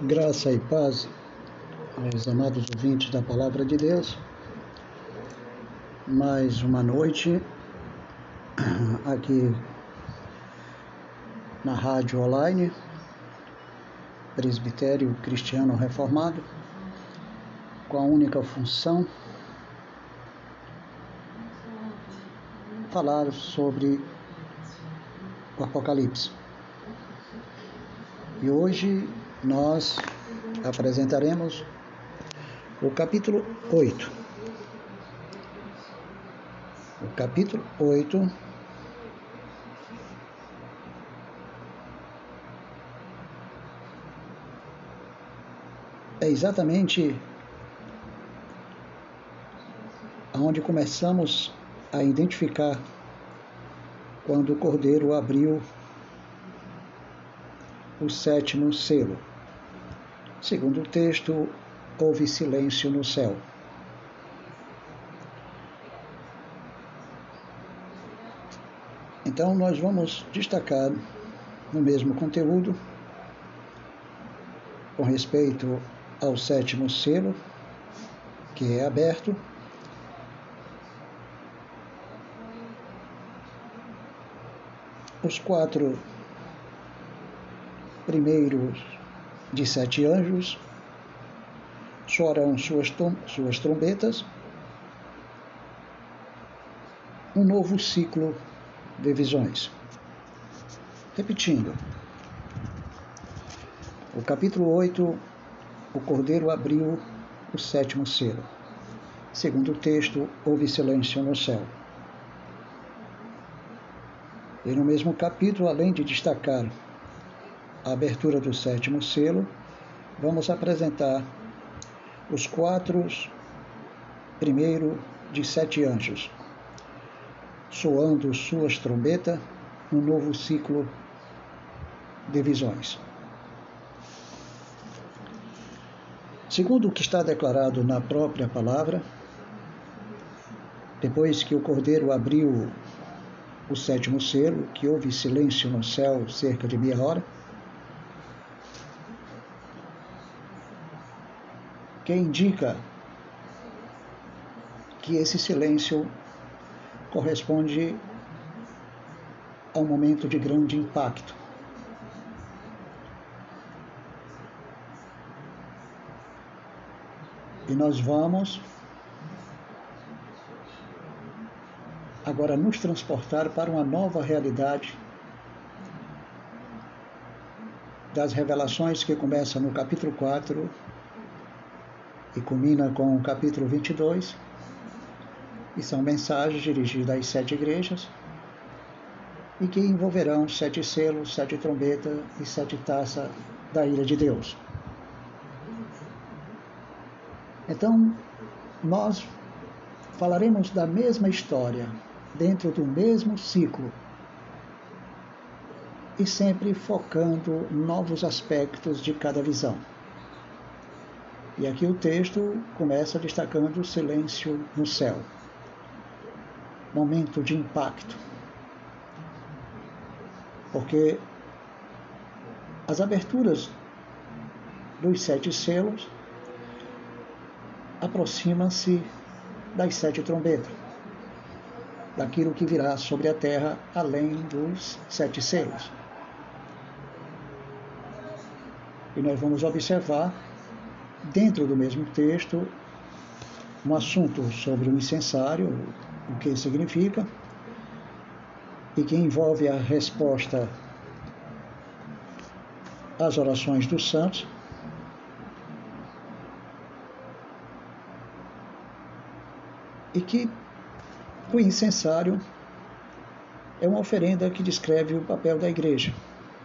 Graça e paz aos amados ouvintes da Palavra de Deus. Mais uma noite aqui na Rádio Online, Presbitério Cristiano Reformado, com a única função falar sobre o Apocalipse. E hoje nós apresentaremos o capítulo 8. O capítulo 8 é exatamente onde começamos a identificar quando o Cordeiro abriu o sétimo selo. Segundo o texto, houve silêncio no céu. Então nós vamos destacar no mesmo conteúdo, com respeito ao sétimo selo, que é aberto, os 4 primeiros de 7 anjos soarão suas trombetas, um novo ciclo de visões. Repetindo, o capítulo 8, o Cordeiro abriu o sétimo selo. Segundo o texto, houve silêncio no céu. E no mesmo capítulo, além de destacar a abertura do sétimo selo, vamos apresentar os 4 primeiros de 7 anjos, soando suas trombetas, um novo ciclo de visões. Segundo o que está declarado na própria palavra, depois que o Cordeiro abriu o sétimo selo, que houve silêncio no céu cerca de meia hora, que indica que esse silêncio corresponde a um momento de grande impacto. E nós vamos agora nos transportar para uma nova realidade das revelações que começa no capítulo 4 e culmina com o capítulo 22, e são mensagens dirigidas às 7 igrejas e que envolverão 7 selos, 7 trombetas e 7 taças da ira de Deus. Então, nós falaremos da mesma história, dentro do mesmo ciclo, e sempre focando novos aspectos de cada visão. E aqui o texto começa destacando o silêncio no céu. Momento de impacto. Porque as aberturas dos 7 selos aproximam-se das 7 trombetas, daquilo que virá sobre a terra além dos 7 selos. E nós vamos observar, dentro do mesmo texto, um assunto sobre o incensário, o que significa, e que envolve a resposta às orações dos santos, e que o incensário é uma oferenda que descreve o papel da igreja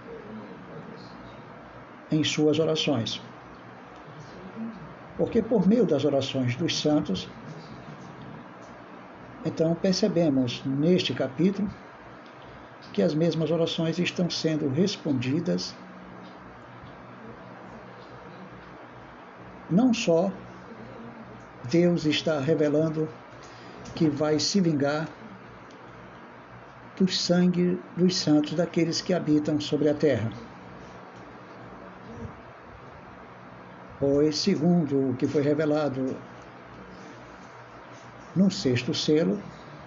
em suas orações. Porque por meio das orações dos santos, então percebemos neste capítulo que as mesmas orações estão sendo respondidas, não só Deus está revelando que vai se vingar do sangue dos santos, daqueles que habitam sobre a terra, Pois, segundo o que foi revelado no sexto selo,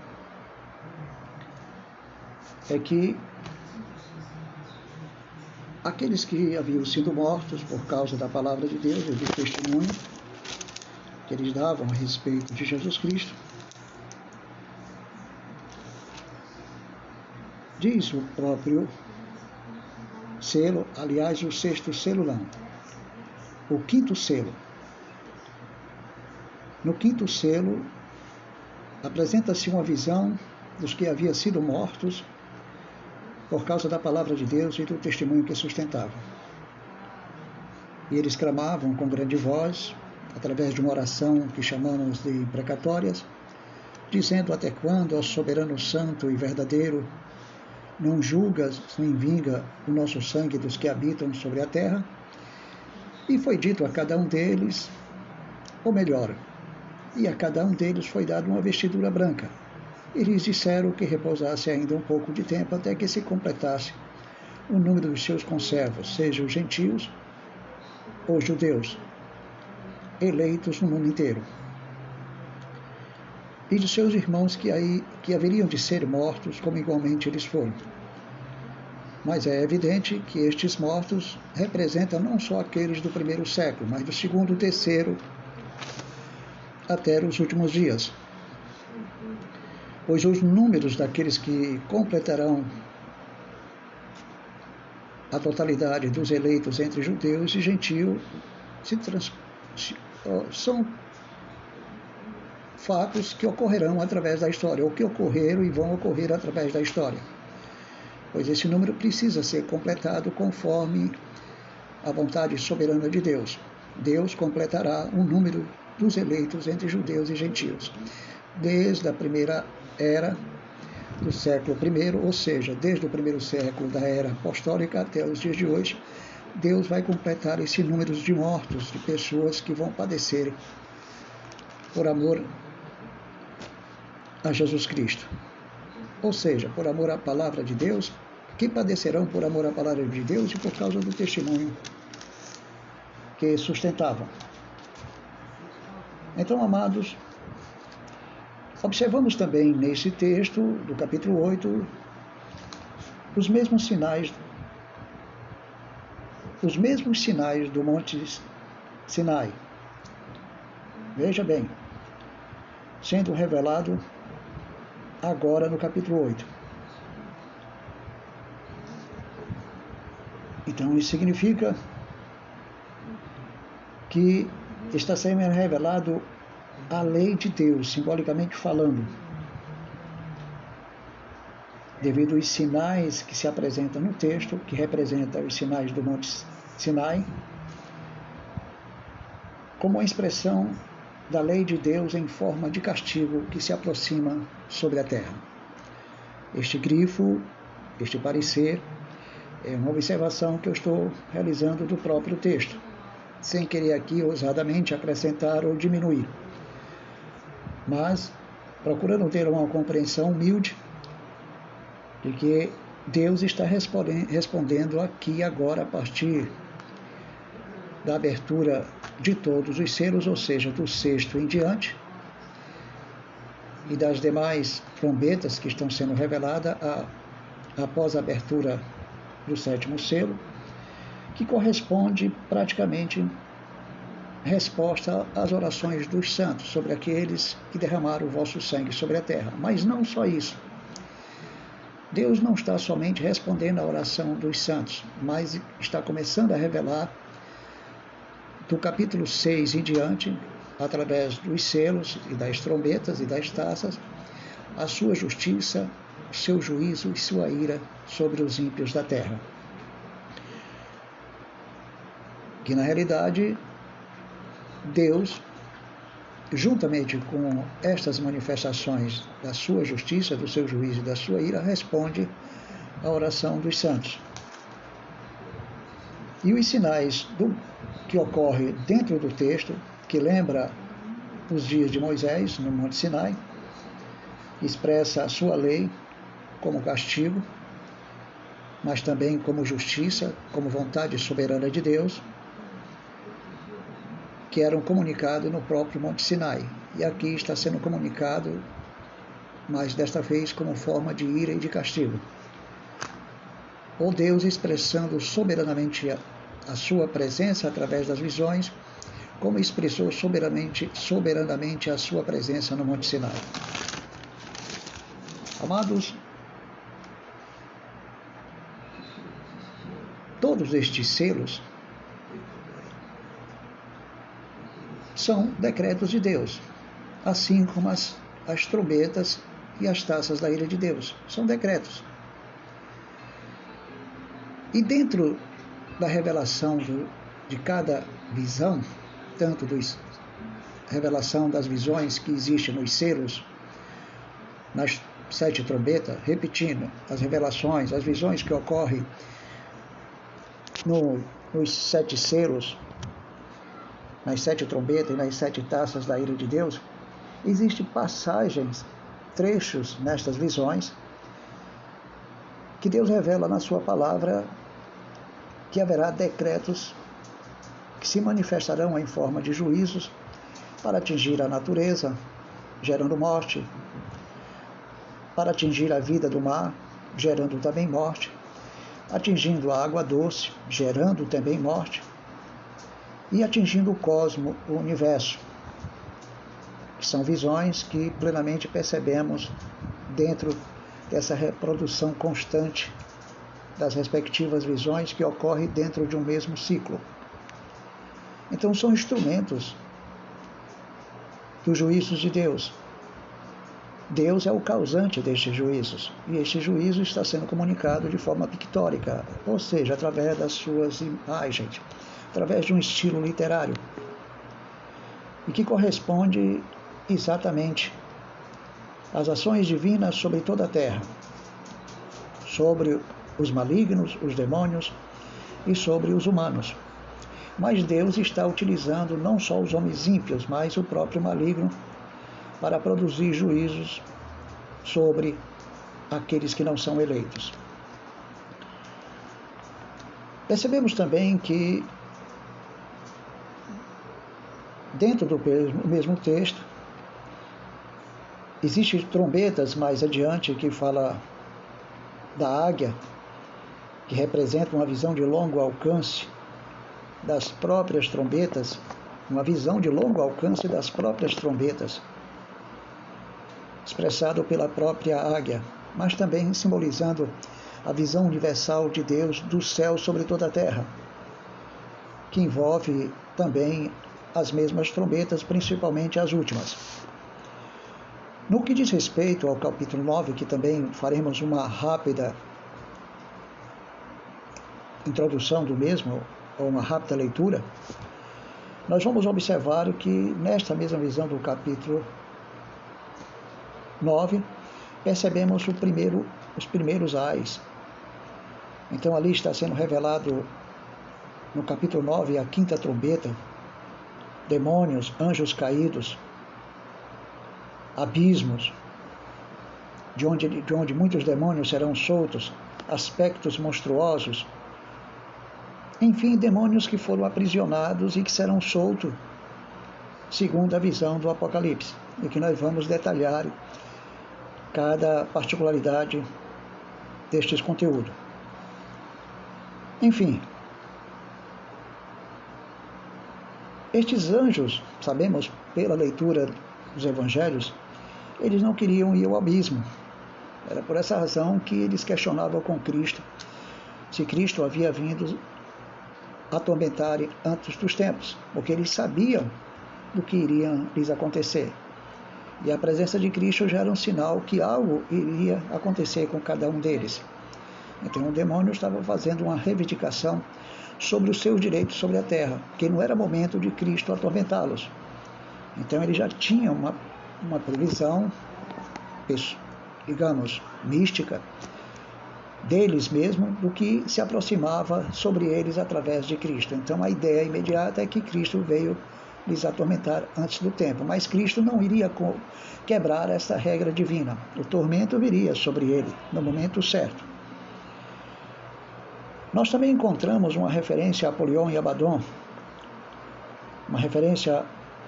é que aqueles que haviam sido mortos por causa da palavra de Deus e do testemunho que eles davam a respeito de Jesus Cristo, diz o próprio selo, aliás, o sexto selo não, o quinto selo. No quinto selo, apresenta-se uma visão dos que haviam sido mortos por causa da palavra de Deus e do testemunho que sustentavam. E eles clamavam com grande voz, através de uma oração que chamamos de imprecatórias, dizendo: até quando, ó soberano santo e verdadeiro, não julgas nem vinga o nosso sangue dos que habitam sobre a terra? E foi dito a cada um deles, ou melhor, e a cada um deles foi dada uma vestidura branca. E lhes disseram que repousasse ainda um pouco de tempo até que se completasse o número dos seus conservos, sejam gentios ou judeus, eleitos no mundo inteiro. E de seus irmãos que haveriam de ser mortos, como igualmente eles foram. Mas é evidente que estes mortos representam não só aqueles do primeiro século, mas do segundo, terceiro, até os últimos dias. Pois os números daqueles que completarão a totalidade dos eleitos entre judeus e gentios são fatos que ocorrerão através da história, ou que ocorreram e vão ocorrer através da história. Pois esse número precisa ser completado conforme a vontade soberana de Deus. Deus completará o número dos eleitos entre judeus e gentios. Desde a primeira era do século I, ou seja, desde o primeiro século da era apostólica até os dias de hoje, Deus vai completar esse número de mortos, de pessoas que vão padecer por amor a Jesus Cristo. Ou seja, por amor à palavra de Deus, que padecerão por amor à palavra de Deus e por causa do testemunho que sustentavam. Então, amados, observamos também nesse texto do capítulo 8 os mesmos sinais do Monte Sinai. Veja bem, sendo revelado agora no capítulo 8. Então, isso significa que está sendo revelado a lei de Deus, simbolicamente falando, devido aos sinais que se apresentam no texto, que representam os sinais do Monte Sinai, como uma expressão da lei de Deus em forma de castigo que se aproxima sobre a terra. Este grifo, este parecer, é uma observação que eu estou realizando do próprio texto, sem querer aqui ousadamente acrescentar ou diminuir, mas procurando ter uma compreensão humilde de que Deus está respondendo aqui e agora a partir da abertura de todos os selos, ou seja, do sexto em diante, e das demais trombetas que estão sendo reveladas após a abertura do sétimo selo, que corresponde praticamente resposta às orações dos santos sobre aqueles que derramaram o vosso sangue sobre a terra. Mas não só isso. Deus não está somente respondendo à oração dos santos, mas está começando a revelar do capítulo 6 em diante, através dos selos e das trombetas e das taças, a sua justiça, o seu juízo e sua ira sobre os ímpios da terra. Que na realidade, Deus, juntamente com estas manifestações da sua justiça, do seu juízo e da sua ira, responde à oração dos santos. E os sinais que ocorrem dentro do texto, que lembra os dias de Moisés no Monte Sinai, expressa a sua lei como castigo, mas também como justiça, como vontade soberana de Deus. que eram comunicados no próprio Monte Sinai. E aqui está sendo comunicado, mas desta vez como forma de ira e de castigo. Ou Deus expressando soberanamente a sua presença através das visões, como expressou soberanamente a sua presença no Monte Sinai. Amados, todos estes selos são decretos de Deus, assim como as trombetas e as taças da ira de Deus. São decretos. E dentro da revelação de cada visão, tanto da revelação das visões que existem nos selos, nas 7 trombetas, repetindo, as revelações, as visões que ocorrem nos 7 selos, nas 7 trombetas e nas 7 taças da ira de Deus, existem passagens, trechos nestas visões, que Deus revela na sua palavra que haverá decretos que se manifestarão em forma de juízos para atingir a natureza, gerando morte, para atingir a vida do mar, gerando também morte, atingindo a água doce, gerando também morte, e atingindo o cosmo, o universo, que são visões que plenamente percebemos dentro dessa reprodução constante das respectivas visões que ocorre dentro de um mesmo ciclo. Então são instrumentos dos juízos de Deus. Deus é o causante destes juízos, e este juízo está sendo comunicado de forma pictórica, ou seja, através das suas imagens, através de um estilo literário, e que corresponde exatamente às ações divinas sobre toda a terra, sobre os malignos, os demônios e sobre os humanos. Mas Deus está utilizando não só os homens ímpios, mas o próprio maligno para produzir juízos sobre aqueles que não são eleitos. Percebemos também que dentro do mesmo texto existem trombetas mais adiante que fala da águia, que representa uma visão de longo alcance das próprias trombetas, uma visão de longo alcance das próprias trombetas, expressado pela própria águia, mas também simbolizando a visão universal de Deus do céu sobre toda a terra, que envolve também as mesmas trombetas, principalmente as últimas. No que diz respeito ao capítulo 9, que também faremos uma rápida introdução do mesmo, ou uma rápida leitura, nós vamos observar que nesta mesma visão do capítulo 9, percebemos os primeiros ais. Então ali está sendo revelado no capítulo 9 a 5ª trombeta, demônios, anjos caídos, abismos, de onde muitos demônios serão soltos, aspectos monstruosos, enfim, demônios que foram aprisionados e que serão soltos, segundo a visão do Apocalipse, e que nós vamos detalhar cada particularidade destes conteúdos. Enfim, estes anjos, sabemos pela leitura dos evangelhos, eles não queriam ir ao abismo. Era por essa razão que eles questionavam com Cristo se Cristo havia vindo atormentar antes dos tempos, porque eles sabiam do que iria lhes acontecer. E a presença de Cristo já era um sinal que algo iria acontecer com cada um deles. Então o demônio estava fazendo uma reivindicação sobre os seus direitos sobre a terra, que não era momento de Cristo atormentá-los. Então ele já tinha uma previsão, digamos, mística, deles mesmo, do que se aproximava sobre eles através de Cristo. Então a ideia imediata é que Cristo veio lhes atormentar antes do tempo, mas Cristo não iria quebrar essa regra divina. O tormento viria sobre ele no momento certo. Nós também encontramos uma referência a Apolion e Abaddon uma referência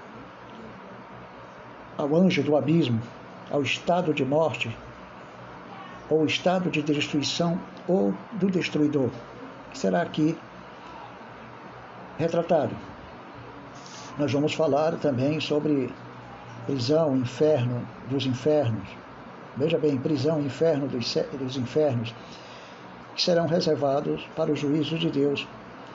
ao anjo do abismo, ao estado de morte, ou estado de destruição ou do destruidor, que será aqui retratado. Nós vamos falar também sobre prisão, inferno dos infernos. Veja bem, prisão e inferno dos infernos, que serão reservados para o juízo de Deus.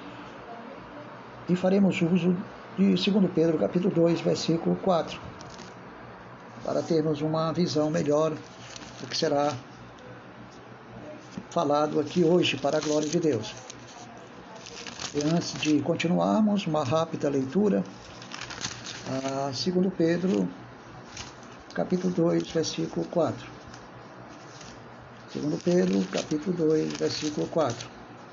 E faremos uso de 2 Pedro, capítulo 2, versículo 4, para termos uma visão melhor do que será falado aqui hoje, para a glória de Deus. E antes de continuarmos, uma rápida leitura a 2 Pedro, capítulo 2, versículo 4. 2 Pedro, capítulo 2, versículo 4.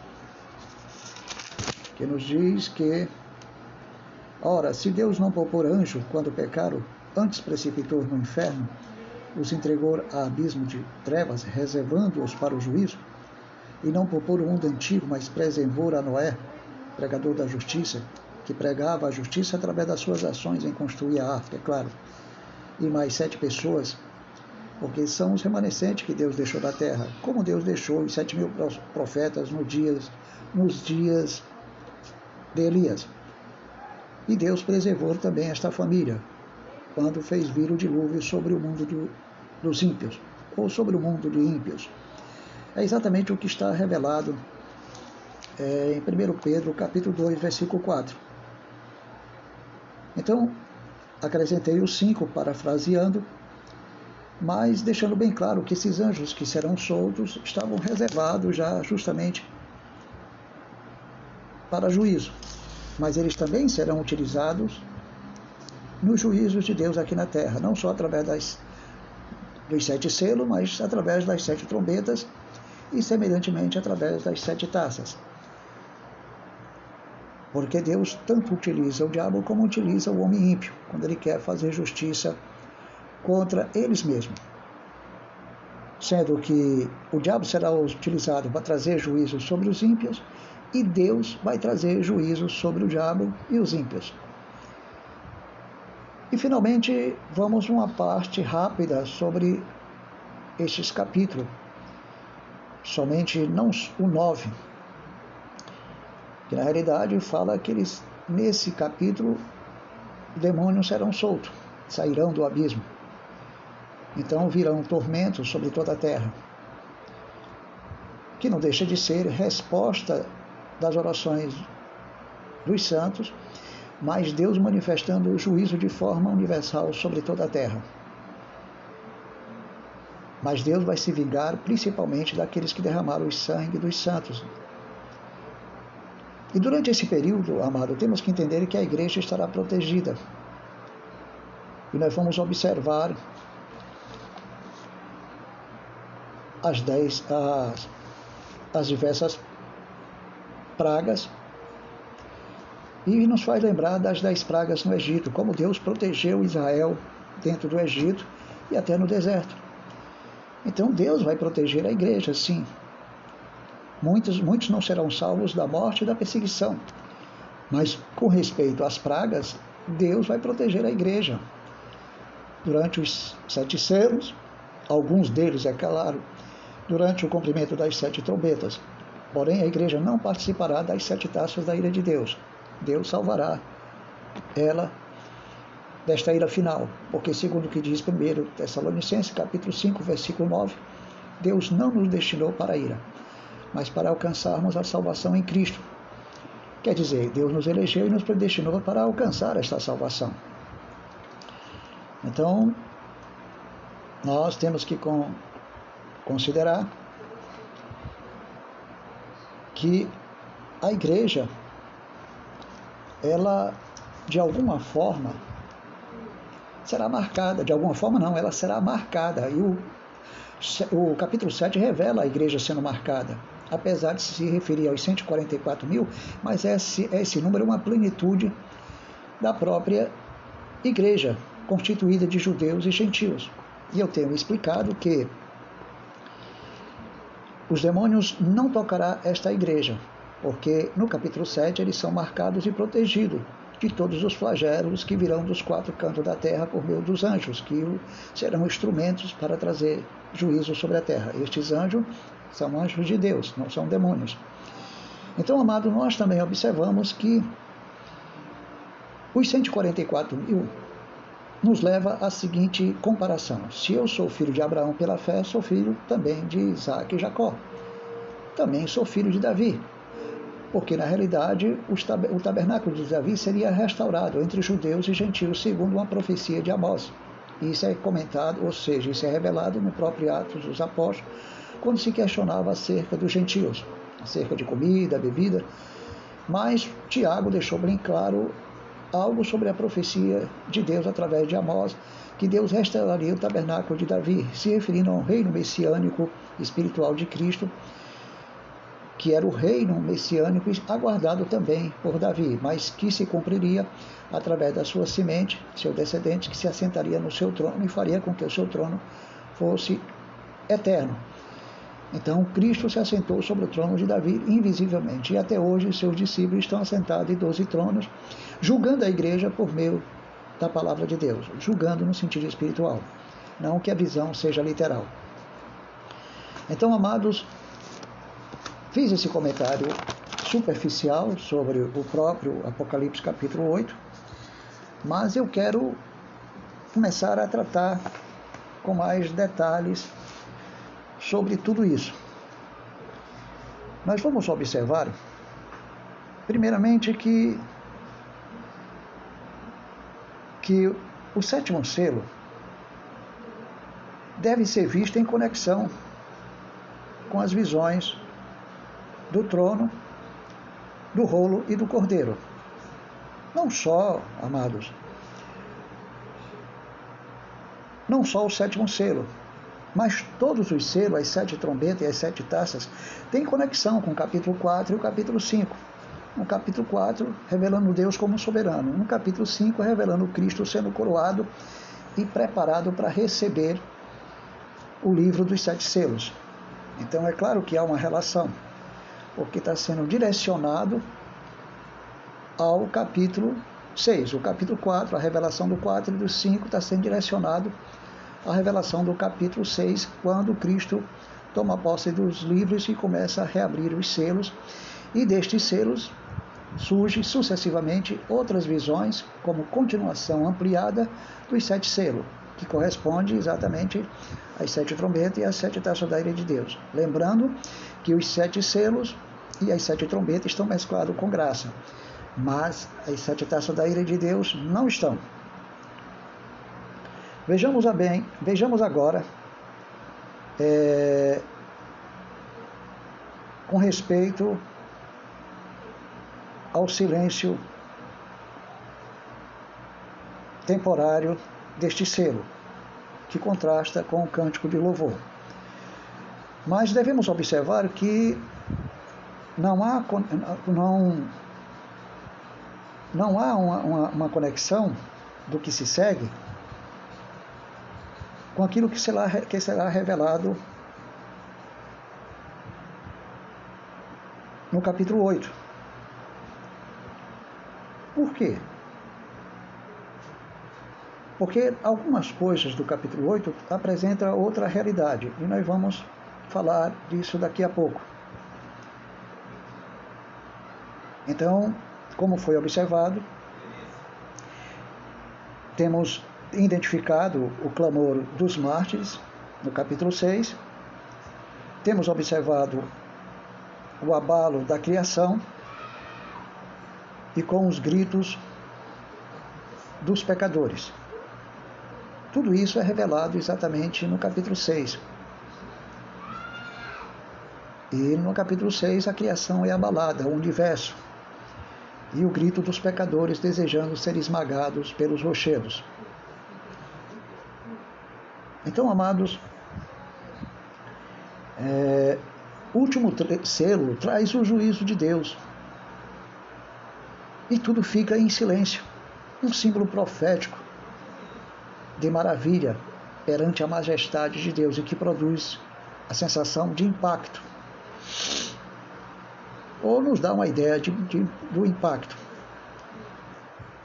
Que nos diz que, ora, se Deus não poupou anjo quando pecaram, antes precipitou no inferno, os entregou a abismo de trevas, reservando-os para o juízo, e não poupou o mundo antigo, mas preservou a Noé, pregador da justiça, que pregava a justiça através das suas ações em construir a arca, é claro, e mais 7 pessoas, porque são os remanescentes que Deus deixou da terra, como Deus deixou os 7.000 profetas nos dias de Elias. E Deus preservou também esta família, quando fez vir o dilúvio sobre o mundo dos ímpios, ou sobre o mundo de ímpios. É exatamente o que está revelado em 1 Pedro, capítulo 2, versículo 4. Então, acrescentei os 5, parafraseando, mas deixando bem claro que esses anjos que serão soltos estavam reservados já justamente para juízo. Mas eles também serão utilizados nos juízos de Deus aqui na terra, não só através dos 7 selos, mas através das 7 trombetas e, semelhantemente, através das 7 taças. Porque Deus tanto utiliza o diabo como utiliza o homem ímpio, quando ele quer fazer justiça contra eles mesmos. Sendo que o diabo será utilizado para trazer juízo sobre os ímpios, e Deus vai trazer juízo sobre o diabo e os ímpios. E, finalmente, vamos uma parte rápida sobre estes capítulos, somente não o 9, que na realidade fala que nesse capítulo, demônios serão soltos, sairão do abismo. Então virão tormentos sobre toda a terra, que não deixa de ser resposta das orações dos santos, mas Deus manifestando o juízo de forma universal sobre toda a terra. Mas Deus vai se vingar principalmente daqueles que derramaram o sangue dos santos. E durante esse período, amado, temos que entender que a igreja estará protegida. E nós vamos observar as diversas pragas, e nos faz lembrar das 10 pragas no Egito, como Deus protegeu Israel dentro do Egito e até no deserto. Então Deus vai proteger a igreja, sim. Muitos não serão salvos da morte e da perseguição, mas com respeito às pragas, Deus vai proteger a igreja. Durante os 7 selos, alguns deles, é claro, durante o cumprimento das 7 trombetas. Porém, a igreja não participará das 7 taças da ira de Deus. Deus salvará ela desta ira final, porque segundo o que diz 1 Tessalonicenses, capítulo 5, versículo 9, Deus não nos destinou para a ira, mas para alcançarmos a salvação em Cristo. Quer dizer, Deus nos elegeu e nos predestinou para alcançar esta salvação. Então, nós temos que considerar que a igreja, ela, de alguma forma, será marcada. De alguma forma não, ela será marcada. E o capítulo 7 revela a igreja sendo marcada, apesar de se referir aos 144.000, mas esse número é uma plenitude da própria igreja, constituída de judeus e gentios. E eu tenho explicado que os demônios não tocarão esta igreja, porque no capítulo 7 eles são marcados e protegidos de todos os flagelos que virão dos quatro cantos da terra por meio dos anjos, que serão instrumentos para trazer juízo sobre a terra. Estes anjos são anjos de Deus, não são demônios. Então, amado, nós também observamos que os 144 mil nos leva à seguinte comparação. Se eu sou filho de Abraão pela fé, sou filho também de Isaac e Jacó. Também sou filho de Davi. Porque, na realidade, o tabernáculo de Davi seria restaurado entre judeus e gentios, segundo uma profecia de Amós. Isso é comentado, ou seja, isso é revelado no próprio Atos dos Apóstolos, quando se questionava acerca dos gentios, acerca de comida, bebida. Mas Tiago deixou bem claro algo sobre a profecia de Deus através de Amós, que Deus restauraria o tabernáculo de Davi, se referindo ao reino messiânico espiritual de Cristo, que era o reino messiânico aguardado também por Davi, mas que se cumpriria através da sua semente, seu descendente, que se assentaria no seu trono e faria com que o seu trono fosse eterno. Então, Cristo se assentou sobre o trono de Davi invisivelmente, e até hoje seus discípulos estão assentados em 12 tronos, julgando a igreja por meio da palavra de Deus, julgando no sentido espiritual, não que a visão seja literal. Então, amados, fiz esse comentário superficial sobre o próprio Apocalipse capítulo 8, mas eu quero começar a tratar com mais detalhes sobre tudo isso. Nós vamos observar, primeiramente, que o sétimo selo deve ser visto em conexão com as visões do trono, do rolo e do cordeiro. Não só, amados, não só o sétimo selo, mas todos os selos, as 7 trombetas e as 7 taças, têm conexão com o capítulo 4 e o capítulo 5. No capítulo 4, revelando Deus como soberano. No capítulo 5, revelando Cristo sendo coroado e preparado para receber o livro dos 7 selos. Então, é claro que há uma relação, porque está sendo direcionado ao capítulo 6. O capítulo 4, a revelação do 4 e do 5, está sendo direcionado à revelação do capítulo 6, quando Cristo toma posse dos livros e começa a reabrir os selos, e destes selos surgem sucessivamente outras visões, como continuação ampliada dos 7 selos, que corresponde exatamente às 7 trombetas e às 7 taças da ira de Deus. Lembrando que os 7 selos e as 7 trombetas estão mesclados com graça, mas as 7 taças da ira de Deus não estão. Vejamos agora, com respeito ao silêncio temporário deste selo, que contrasta com o cântico de louvor. Mas devemos observar que não há uma conexão do que se segue com aquilo que será revelado no capítulo 8. Por quê? Porque algumas coisas do capítulo 8 apresentam outra realidade, e nós vamos falar disso daqui a pouco. Então, como foi observado, temos identificado o clamor dos mártires, no capítulo 6. Temos observado o abalo da criação e com os gritos dos pecadores. Tudo isso é revelado exatamente no capítulo 6. E no capítulo 6 a criação é abalada, o universo, e o grito dos pecadores desejando ser esmagados pelos rochedos. Então, amados, o último selo traz o juízo de Deus. E tudo fica em silêncio. Um símbolo profético de maravilha perante a majestade de Deus e que produz a sensação de impacto. Ou nos dá uma ideia do impacto.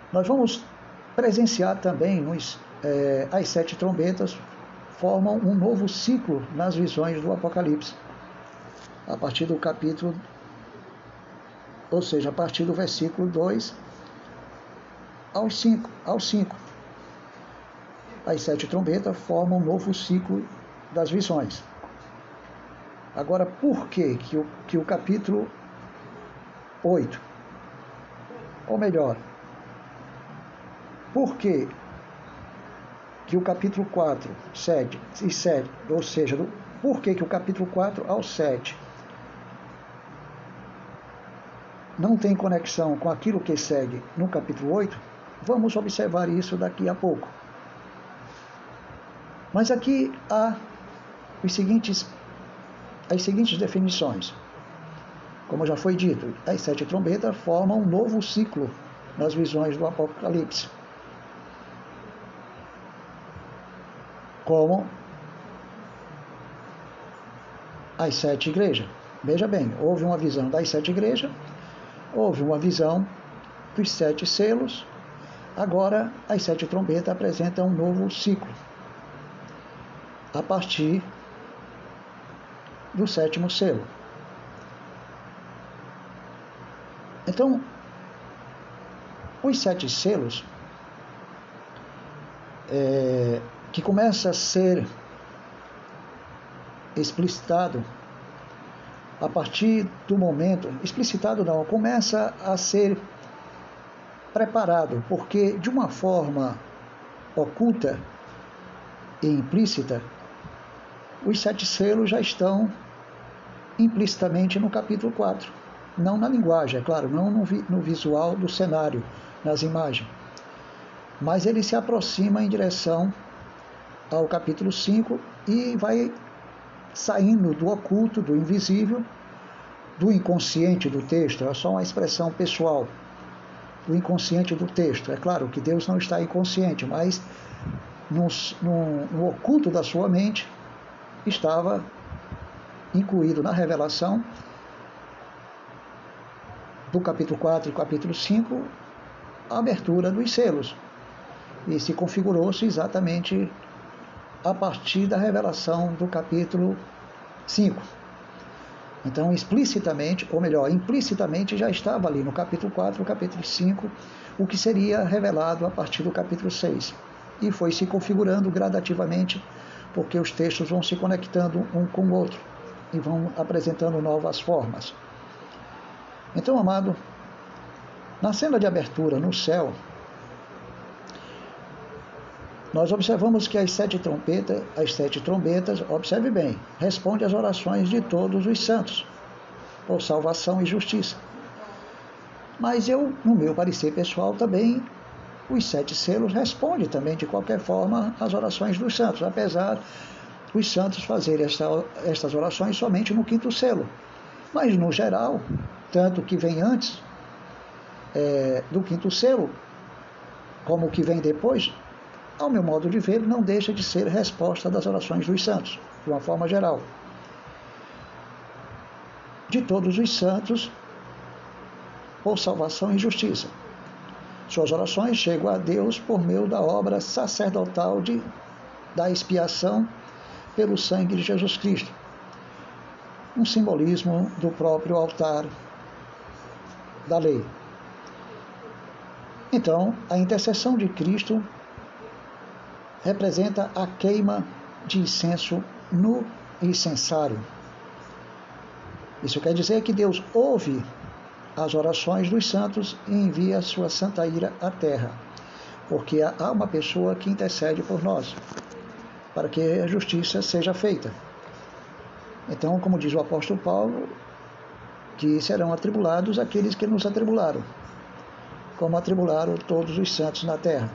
Nós vamos presenciar também as 7 trombetas formam um novo ciclo nas visões do Apocalipse, a partir do capítulo, ou seja, a partir do versículo 2 ao 5. As 7 trombetas formam um novo ciclo das visões. Agora, por que o capítulo 8, ou melhor, por que o capítulo 4, 7 e 7, ou seja, por que o capítulo 4 ao 7 não tem conexão com aquilo que segue no capítulo 8, vamos observar isso daqui a pouco. Mas aqui há as seguintes definições. Como já foi dito, as 7 trombetas formam um novo ciclo nas visões do Apocalipse. Como as 7 igrejas. Veja bem, houve uma visão das 7 igrejas, houve uma visão dos 7 selos, agora as 7 trombetas apresentam um novo ciclo, a partir do 7º selo. Então, os 7 selos, que começa a ser explicitado a partir do momento, explicitado não, começa a ser preparado, porque de uma forma oculta e implícita, os 7 selos já estão implicitamente no capítulo 4. Não na linguagem, é claro, não no visual do cenário, nas imagens. Mas ele se aproxima em direção ao capítulo 5 e vai saindo do oculto, do invisível, do inconsciente do texto. É só uma expressão pessoal, do inconsciente do texto. É claro que Deus não está inconsciente, mas no oculto da sua mente estava incluído na revelação do capítulo 4 e capítulo 5 a abertura dos selos. E se configurou-se exatamente a partir da revelação do capítulo 5. Então, explicitamente, ou melhor, implicitamente já estava ali no capítulo 4, no capítulo 5, o que seria revelado a partir do capítulo 6. E foi se configurando gradativamente, porque os textos vão se conectando um com o outro e vão apresentando novas formas. Então, amado, na cena de abertura no céu, nós observamos que as 7 trombetas, observe bem, respondem às orações de todos os santos, por salvação e justiça. Mas no meu parecer pessoal, também os 7 selos respondem também, de qualquer forma, às orações dos santos, apesar dos santos fazerem estas orações somente no 5º selo. Mas, no geral, tanto que vem antes do 5º selo, como o que vem depois, ao meu modo de ver, não deixa de ser resposta das orações dos santos, de uma forma geral. De todos os santos, por salvação e justiça. Suas orações chegam a Deus por meio da obra sacerdotal da expiação pelo sangue de Jesus Cristo. Um simbolismo do próprio altar da lei. Então, a intercessão de Cristo representa a queima de incenso no incensário. Isso quer dizer que Deus ouve as orações dos santos e envia a sua santa ira à terra, porque há uma pessoa que intercede por nós, para que a justiça seja feita. Então, como diz o apóstolo Paulo, que serão atribulados aqueles que nos atribularam, como atribularam todos os santos na terra.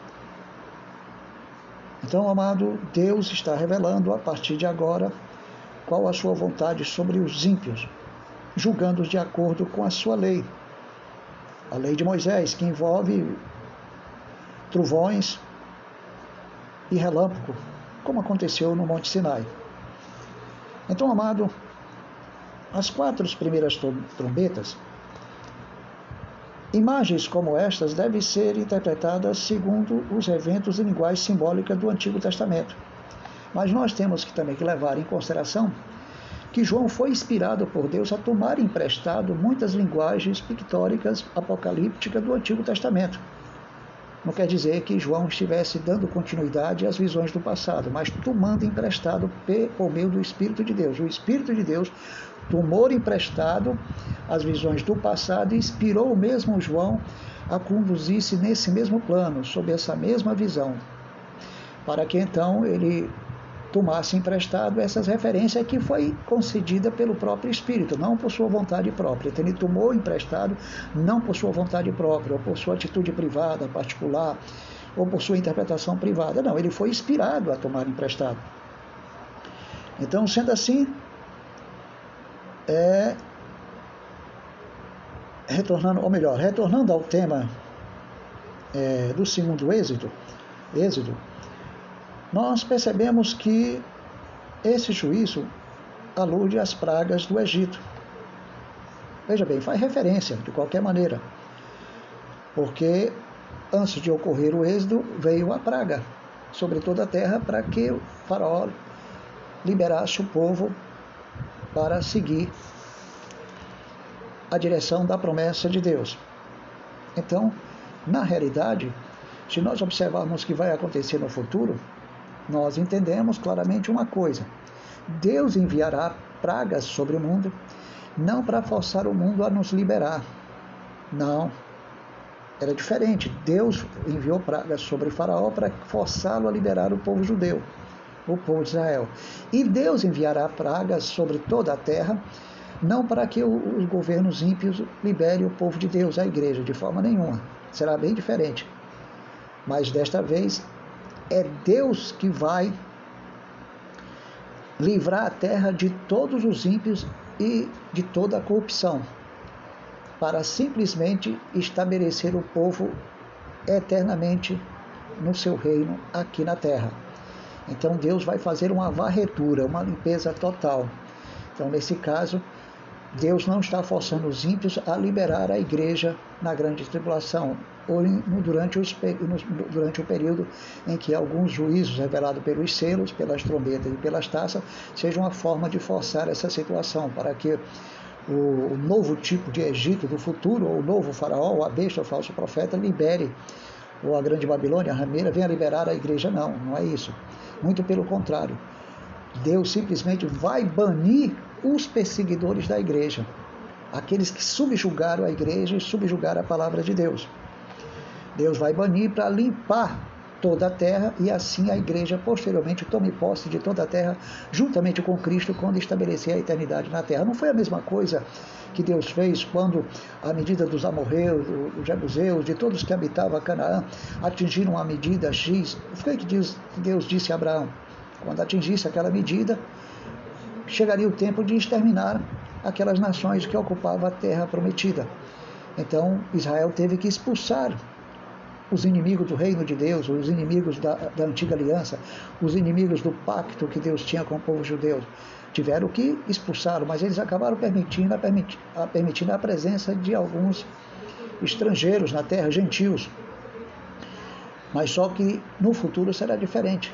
Então, amado, Deus está revelando a partir de agora qual a sua vontade sobre os ímpios, julgando-os de acordo com a sua lei. A lei de Moisés, que envolve trovões e relâmpago, como aconteceu no Monte Sinai. Então, amado, as 4 primeiras trombetas Imagens como estas devem ser interpretadas segundo os eventos e linguagem simbólica do Antigo Testamento. Mas nós temos também que levar em consideração que João foi inspirado por Deus a tomar emprestado muitas linguagens pictóricas apocalípticas do Antigo Testamento. Não quer dizer que João estivesse dando continuidade às visões do passado, mas tomando emprestado por meio do Espírito de Deus. O Espírito de Deus tomou emprestado as visões do passado e inspirou o mesmo João a conduzir-se nesse mesmo plano, sob essa mesma visão, para que então ele tomasse emprestado essas referências que foi concedida pelo próprio Espírito, não por sua vontade própria. Então ele tomou emprestado não por sua vontade própria, ou por sua atitude privada, particular, ou por sua interpretação privada. Não, ele foi inspirado a tomar emprestado. Então, sendo assim, retornando ao tema do segundo Êxodo, nós percebemos que esse juízo alude às pragas do Egito. Veja bem, faz referência de qualquer maneira, porque antes de ocorrer o êxodo, veio a praga sobre toda a terra para que o faraó liberasse o povo para seguir a direção da promessa de Deus. Então, na realidade, se nós observarmos o que vai acontecer no futuro, nós entendemos claramente uma coisa: Deus enviará pragas sobre o mundo, não para forçar o mundo a nos liberar. Não, era diferente. Deus enviou pragas sobre o faraó para forçá-lo a liberar o povo judeu, o povo de Israel. E Deus enviará pragas sobre toda a terra, não para que os governos ímpios liberem o povo de Deus, a igreja, de forma nenhuma. Será bem diferente. Mas desta vez é Deus que vai livrar a terra de todos os ímpios e de toda a corrupção, para simplesmente estabelecer o povo eternamente no seu reino aqui na terra. Então Deus vai fazer uma varredura, uma limpeza total. Então, nesse caso, Deus não está forçando os ímpios a liberar a igreja na grande tribulação, ou durante o período em que alguns juízos revelados pelos selos, pelas trombetas e pelas taças, sejam uma forma de forçar essa situação, para que o novo tipo de Egito do futuro, ou o novo faraó, ou a besta, o falso profeta, libere, ou a grande Babilônia, a rameira, venha liberar a igreja. Não, não é isso. Muito pelo contrário. Deus simplesmente vai banir os perseguidores da igreja, aqueles que subjugaram a igreja e subjugaram a palavra de Deus. Deus vai banir para limpar toda a terra, e assim a igreja posteriormente tome posse de toda a terra, juntamente com Cristo, quando estabelecer a eternidade na terra. Não foi a mesma coisa que Deus fez quando, à medida dos amorreus, dos jebuseus, de todos que habitavam Canaã, atingiram a medida X? Foi o que Deus disse a Abraão: quando atingisse aquela medida, chegaria o tempo de exterminar aquelas nações que ocupavam a terra prometida. Então Israel teve que expulsar os inimigos do reino de Deus, os inimigos da antiga aliança, os inimigos do pacto que Deus tinha com o povo judeu. Tiveram que expulsá-lo, mas eles acabaram permitindo a presença de alguns estrangeiros na terra, gentios. Mas só que no futuro será diferente.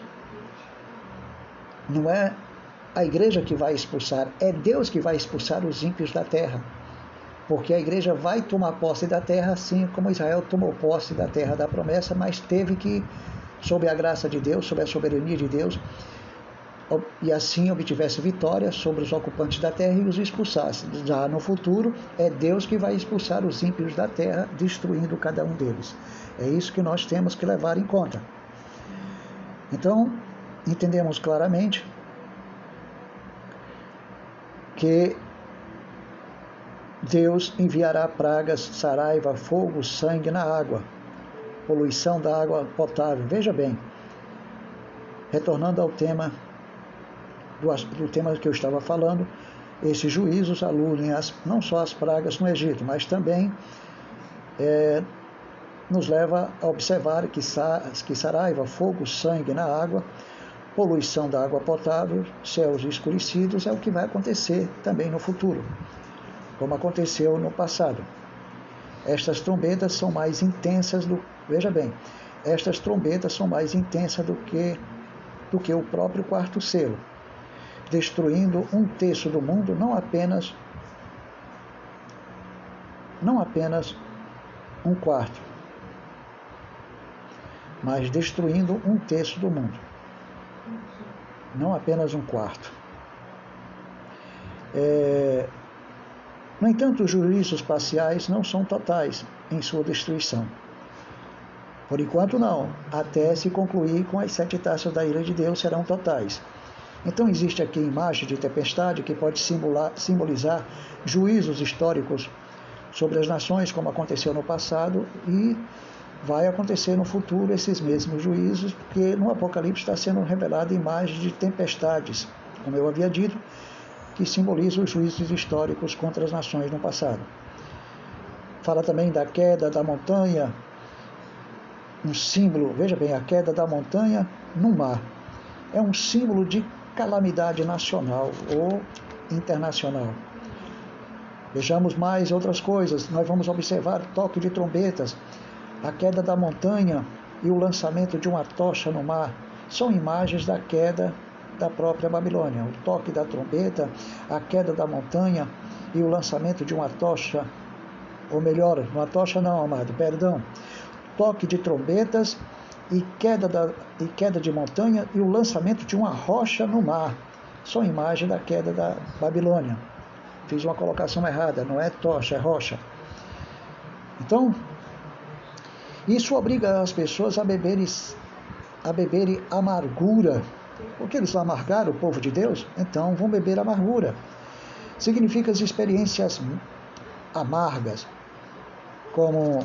Não é a igreja que vai expulsar, é Deus que vai expulsar os ímpios da terra. Porque a igreja vai tomar posse da terra, assim como Israel tomou posse da terra da promessa, mas teve que, sob a graça de Deus, sob a soberania de Deus, e assim obtivesse vitória sobre os ocupantes da terra e os expulsasse. Já no futuro, é Deus que vai expulsar os ímpios da terra, destruindo cada um deles. É isso que nós temos que levar em conta. Então, entendemos claramente que Deus enviará pragas, saraiva, fogo, sangue na água, poluição da água potável. Veja bem, retornando ao tema do tema que eu estava falando, esses juízos aludem não só às pragas no Egito, mas também nos leva a observar que saraiva, fogo, sangue na água, poluição da água potável, céus escurecidos, é o que vai acontecer também no futuro, como aconteceu no passado. Estas trombetas são mais intensas veja bem, estas trombetas são mais intensas do que o próprio quarto selo, destruindo um terço do mundo, não apenas um quarto, mas destruindo um terço do mundo, não apenas um quarto. No entanto, os juízos parciais não são totais em sua destruição. Por enquanto não, até se concluir com as 7 taças da ira de Deus serão totais. Então existe aqui a imagem de tempestade que pode simbolizar juízos históricos sobre as nações, como aconteceu no passado, e vai acontecer no futuro esses mesmos juízos, porque no Apocalipse está sendo revelada a imagem de tempestades, como eu havia dito, que simboliza os juízos históricos contra as nações no passado. Fala também da queda da montanha, um símbolo, veja bem, a queda da montanha no mar. É um símbolo de calamidade nacional ou internacional. Vejamos mais outras coisas. Nós vamos observar toque de trombetas, a queda da montanha e o lançamento de uma tocha no mar. São imagens da queda da própria Babilônia. O toque da trombeta, a queda da montanha e o lançamento de uma tocha, ou melhor, uma tocha não, amado, perdão. Toque de trombetas e queda de montanha e o lançamento de uma rocha no mar. São imagens da queda da Babilônia. Fiz uma colocação errada, não é tocha, é rocha. Então, isso obriga as pessoas a beberem amargura, porque eles amargaram o povo de Deus, então vão beber amargura. Significa as experiências amargas, como,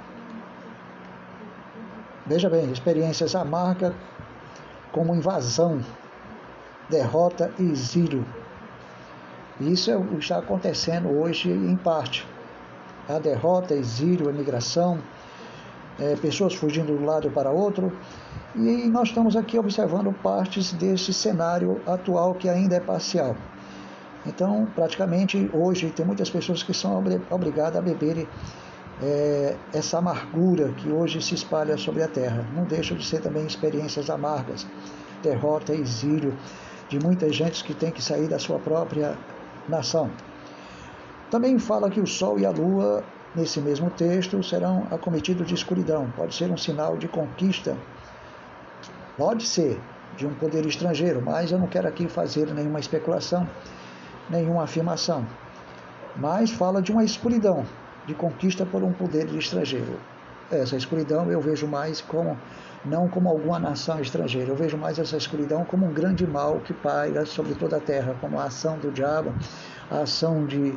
veja bem, experiências amargas como invasão, derrota e exílio. Isso está acontecendo hoje em parte. A derrota, exílio, a migração, pessoas fugindo de um lado para outro. E nós estamos aqui observando partes desse cenário atual que ainda é parcial. Então, praticamente, hoje, tem muitas pessoas que são obrigadas a beberem essa amargura que hoje se espalha sobre a terra. Não deixa de ser também experiências amargas, derrota, exílio, de muita gente que tem que sair da sua própria nação. Também fala que o sol e a lua, nesse mesmo texto, serão acometidos de escuridão. Pode ser um sinal de conquista, pode ser de um poder estrangeiro, mas eu não quero aqui fazer nenhuma especulação, nenhuma afirmação. Mas fala de uma escuridão, de conquista por um poder estrangeiro. Essa escuridão eu vejo mais não como alguma nação estrangeira, eu vejo mais essa escuridão como um grande mal que paira sobre toda a terra, como a ação do diabo, a ação de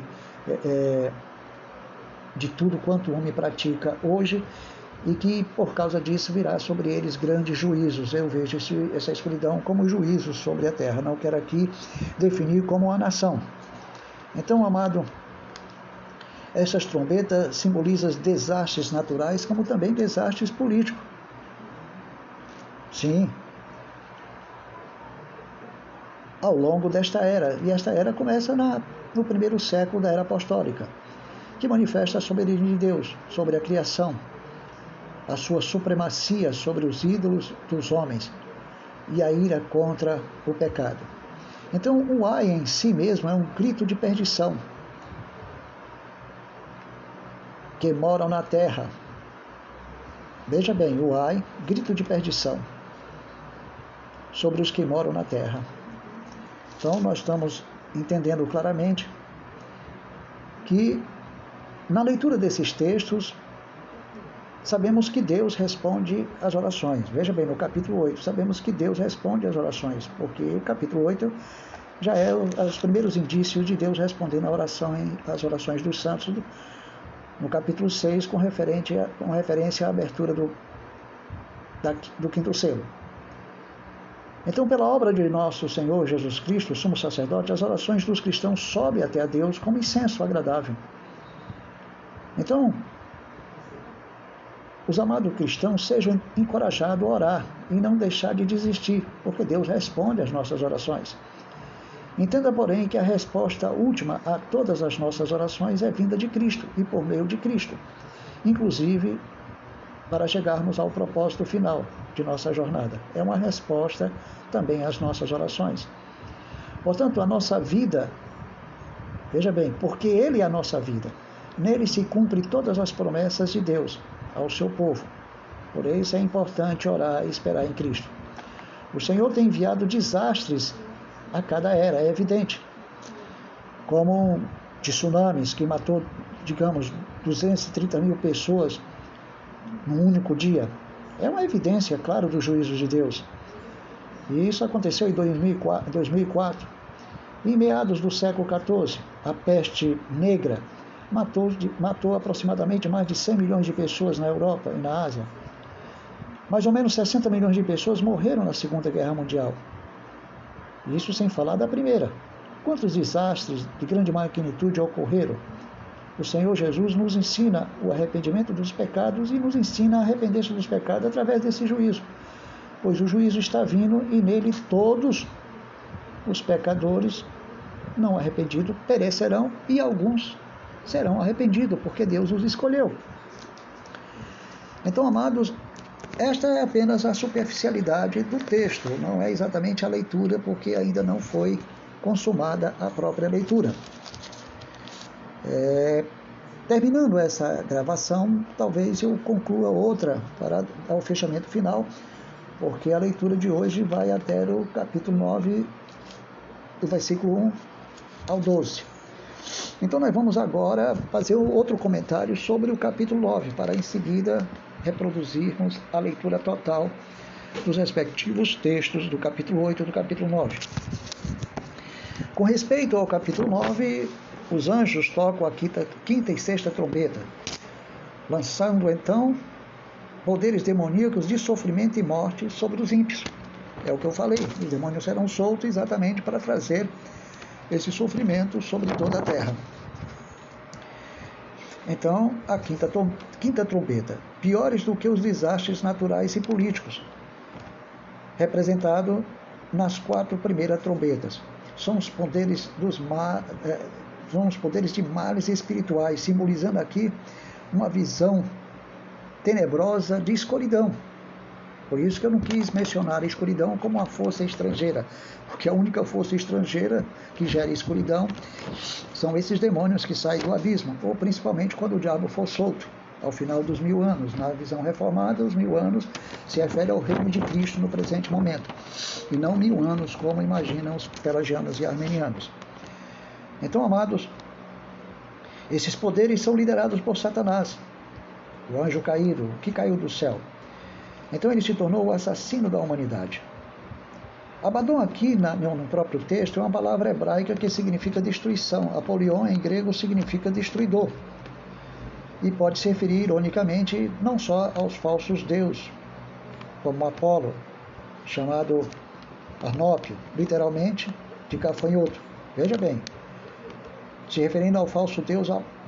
tudo quanto o homem pratica hoje, e que por causa disso virá sobre eles grandes juízos. Eu vejo essa escuridão como juízo sobre a terra, não quero aqui definir como uma nação. Então, amado, essas trombetas simbolizam desastres naturais, como também desastres políticos. Sim, ao longo desta era, e esta era começa no primeiro século da era apostólica, que manifesta a soberania de Deus sobre a criação, a sua supremacia sobre os ídolos dos homens e a ira contra o pecado. Então, o ai em si mesmo é um grito de perdição que moram na terra. Veja bem, o ai, grito de perdição sobre os que moram na terra. Então, nós estamos entendendo claramente que, na leitura desses textos, sabemos que Deus responde às orações. Veja bem, no capítulo 8, sabemos que Deus responde às orações, porque o capítulo 8 já é os primeiros indícios de Deus respondendo às orações dos santos, no capítulo 6, com referência à abertura do 5º selo. Então, pela obra de nosso Senhor Jesus Cristo, sumo sacerdote, as orações dos cristãos sobem até a Deus como incenso agradável. Então, os amados cristãos sejam encorajados a orar e não deixar de desistir, porque Deus responde às nossas orações. Entenda, porém, que a resposta última a todas as nossas orações é vinda de Cristo e por meio de Cristo. inclusive para chegarmos ao propósito final de nossa jornada. É uma resposta também às nossas orações. Portanto, a nossa vida, veja bem, porque Ele é a nossa vida, nele se cumpre todas as promessas de Deus ao seu povo. Por isso é importante orar e esperar em Cristo. O Senhor tem enviado desastres a cada era, é evidente, como tsunamis que matou, digamos, 230 mil pessoas num único dia. É uma evidência, claro, do juízo de Deus. E isso aconteceu em 2004. Em meados do século XIV, a peste negra matou aproximadamente mais de 100 milhões de pessoas na Europa e na Ásia. Mais ou menos 60 milhões de pessoas morreram na Segunda Guerra Mundial. Isso sem falar da Primeira. Quantos desastres de grande magnitude ocorreram? O Senhor Jesus nos ensina o arrependimento dos pecados e nos ensina a arrepender-se dos pecados através desse juízo. Pois o juízo está vindo e nele todos os pecadores não arrependidos perecerão e alguns serão arrependidos, porque Deus os escolheu. Então, amados, esta é apenas a superficialidade do texto, não é exatamente a leitura, porque ainda não foi consumada a própria leitura. Terminando essa gravação, talvez eu conclua outra para dar o fechamento final, porque a leitura de hoje vai até o capítulo 9, do versículo 1 ao 12. Então nós vamos agora fazer outro comentário sobre o capítulo 9, para em seguida reproduzirmos a leitura total dos respectivos textos do capítulo 8 e do capítulo 9. Com respeito ao capítulo 9, os anjos tocam a quinta e sexta trombeta, lançando então poderes demoníacos de sofrimento e morte sobre os ímpios. É o que eu falei, os demônios serão soltos exatamente para trazer esse sofrimento sobre toda a terra. Então, a quinta trombeta, piores do que os desastres naturais e políticos, representado nas 4 primeiras trombetas. São os poderes de males espirituais, simbolizando aqui uma visão tenebrosa de escuridão. Por isso que eu não quis mencionar a escuridão como uma força estrangeira, porque a única força estrangeira que gera escuridão são esses demônios que saem do abismo, ou principalmente quando o diabo for solto, ao final dos 1000 anos. Na visão reformada, os 1000 anos se refere ao reino de Cristo no presente momento, e não 1000 anos como imaginam os pelagianos e armenianos. Então, amados, esses poderes são liderados por Satanás, o anjo caído, que caiu do céu. Então ele se tornou o assassino da humanidade. Abaddon aqui no próprio texto é uma palavra hebraica que significa destruição. Apolion em grego significa destruidor. E pode se referir ironicamente não só aos falsos deuses, como Apolo, chamado Parnópio, literalmente de gafanhoto. Veja bem, se referindo ao falso deus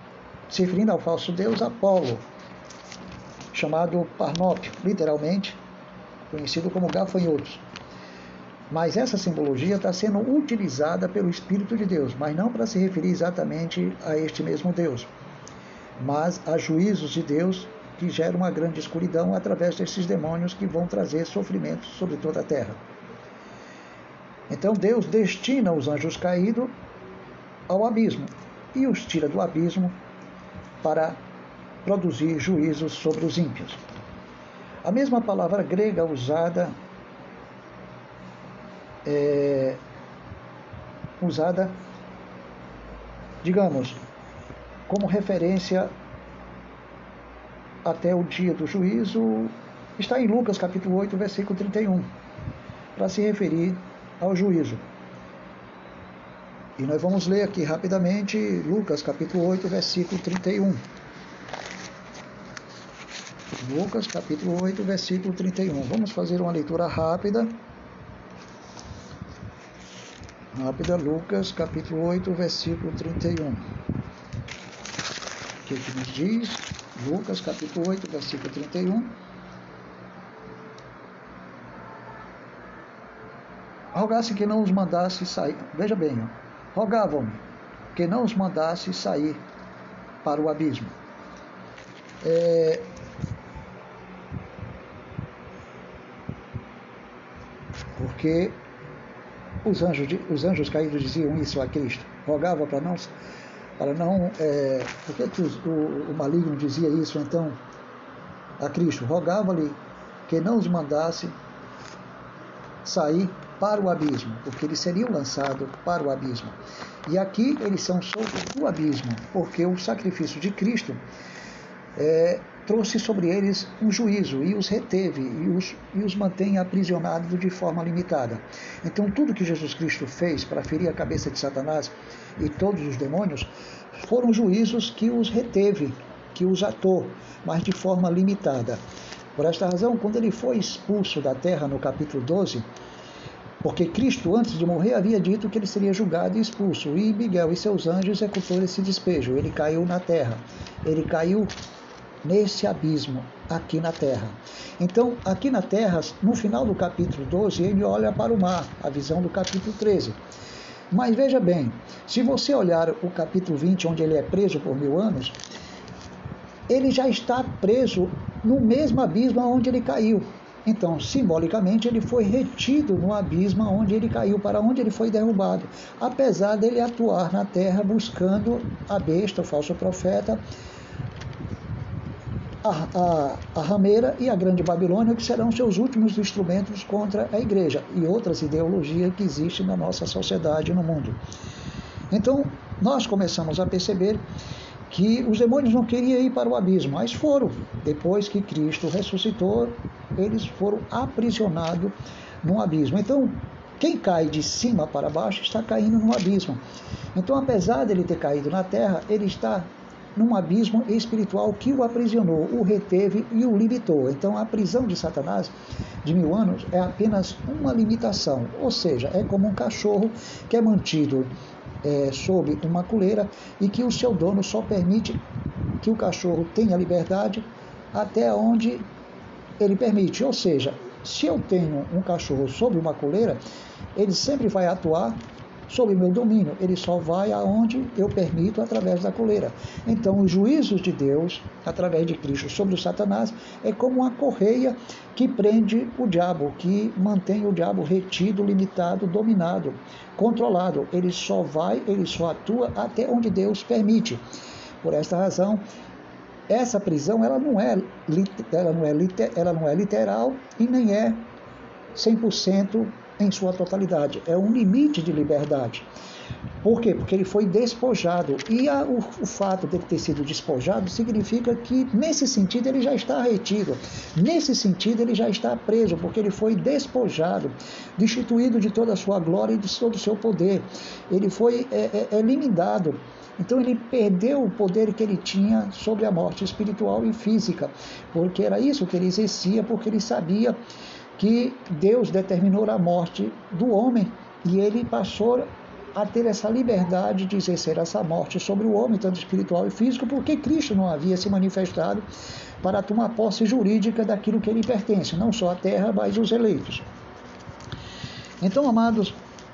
Apolo, chamado Parnópio, literalmente conhecido como gafanhotos. Mas essa simbologia está sendo utilizada pelo Espírito de Deus, mas não para se referir exatamente a este mesmo Deus, mas a juízos de Deus que geram uma grande escuridão através desses demônios que vão trazer sofrimento sobre toda a terra. Então Deus destina os anjos caídos ao abismo e os tira do abismo para produzir juízos sobre os ímpios. A mesma palavra grega usada, digamos, como referência até o dia do juízo, está em Lucas capítulo 8, versículo 31, para se referir ao juízo. E nós vamos ler aqui rapidamente Lucas capítulo 8, versículo 31. Lucas capítulo 8, versículo 31. Vamos fazer uma leitura rápida. Lucas capítulo 8, versículo 31. O que nos diz? Lucas capítulo 8, versículo 31. Rogasse que não os mandasse sair. Veja bem, rogavam-me que não os mandasse sair para o abismo. Porque os anjos caídos diziam isso a Cristo, rogava para não por que o maligno dizia isso então a Cristo? Rogava-lhe que não os mandasse sair para o abismo, porque eles seriam lançados para o abismo. E aqui eles são soltos do abismo, porque o sacrifício de Cristo trouxe sobre eles um juízo e os reteve e os mantém aprisionados de forma limitada. Então tudo que Jesus Cristo fez para ferir a cabeça de Satanás e todos os demônios foram juízos que os reteve, que os atou, mas de forma limitada. Por esta razão, quando ele foi expulso da terra no capítulo 12, porque Cristo, antes de morrer, havia dito que ele seria julgado e expulso, e Miguel e seus anjos executaram esse despejo. Ele caiu na terra, ele caiu nesse abismo, aqui na terra. Então, aqui na terra, no final do capítulo 12, ele olha para o mar, a visão do capítulo 13. Mas veja bem, se você olhar o capítulo 20, onde ele é preso por 1000 anos, ele já está preso no mesmo abismo onde ele caiu. Então, simbolicamente, ele foi retido no abismo onde ele caiu, para onde ele foi derrubado, apesar dele atuar na terra buscando a besta, o falso profeta, a rameira e a grande Babilônia, que serão seus últimos instrumentos contra a igreja e outras ideologias que existem na nossa sociedade e no mundo. Então, nós começamos a perceber que os demônios não queriam ir para o abismo, mas foram. Depois que Cristo ressuscitou, eles foram aprisionados no abismo. Então, quem cai de cima para baixo está caindo no abismo. Então, apesar dele ter caído na terra, ele está num abismo espiritual que o aprisionou, o reteve e o limitou. Então, a prisão de Satanás de 1000 anos é apenas uma limitação, ou seja, é como um cachorro que é mantido sob uma coleira e que o seu dono só permite que o cachorro tenha liberdade até onde ele permite. Ou seja, se eu tenho um cachorro sob uma coleira, ele sempre vai atuar sob meu domínio, ele só vai aonde eu permito através da coleira. Então, os juízos de Deus, através de Cristo sobre o Satanás, é como uma correia que prende o diabo, que mantém o diabo retido, limitado, dominado, controlado. Ele só atua até onde Deus permite. Por esta razão, essa prisão ela não é literal e nem é 100% em sua totalidade. É um limite de liberdade. Por quê? Porque ele foi despojado. E o fato de ele ter sido despojado significa que, nesse sentido, ele já está retido. Nesse sentido, ele já está preso, porque ele foi despojado, destituído de toda a sua glória e de todo o seu poder. Ele foi eliminado. Então ele perdeu o poder que ele tinha sobre a morte espiritual e física, porque era isso que ele exercia, porque ele sabia que Deus determinou a morte do homem e ele passou a ter essa liberdade de exercer essa morte sobre o homem, tanto espiritual e físico, porque Cristo não havia se manifestado para tomar posse jurídica daquilo que lhe pertence, não só a terra, mas os eleitos. Então, amados,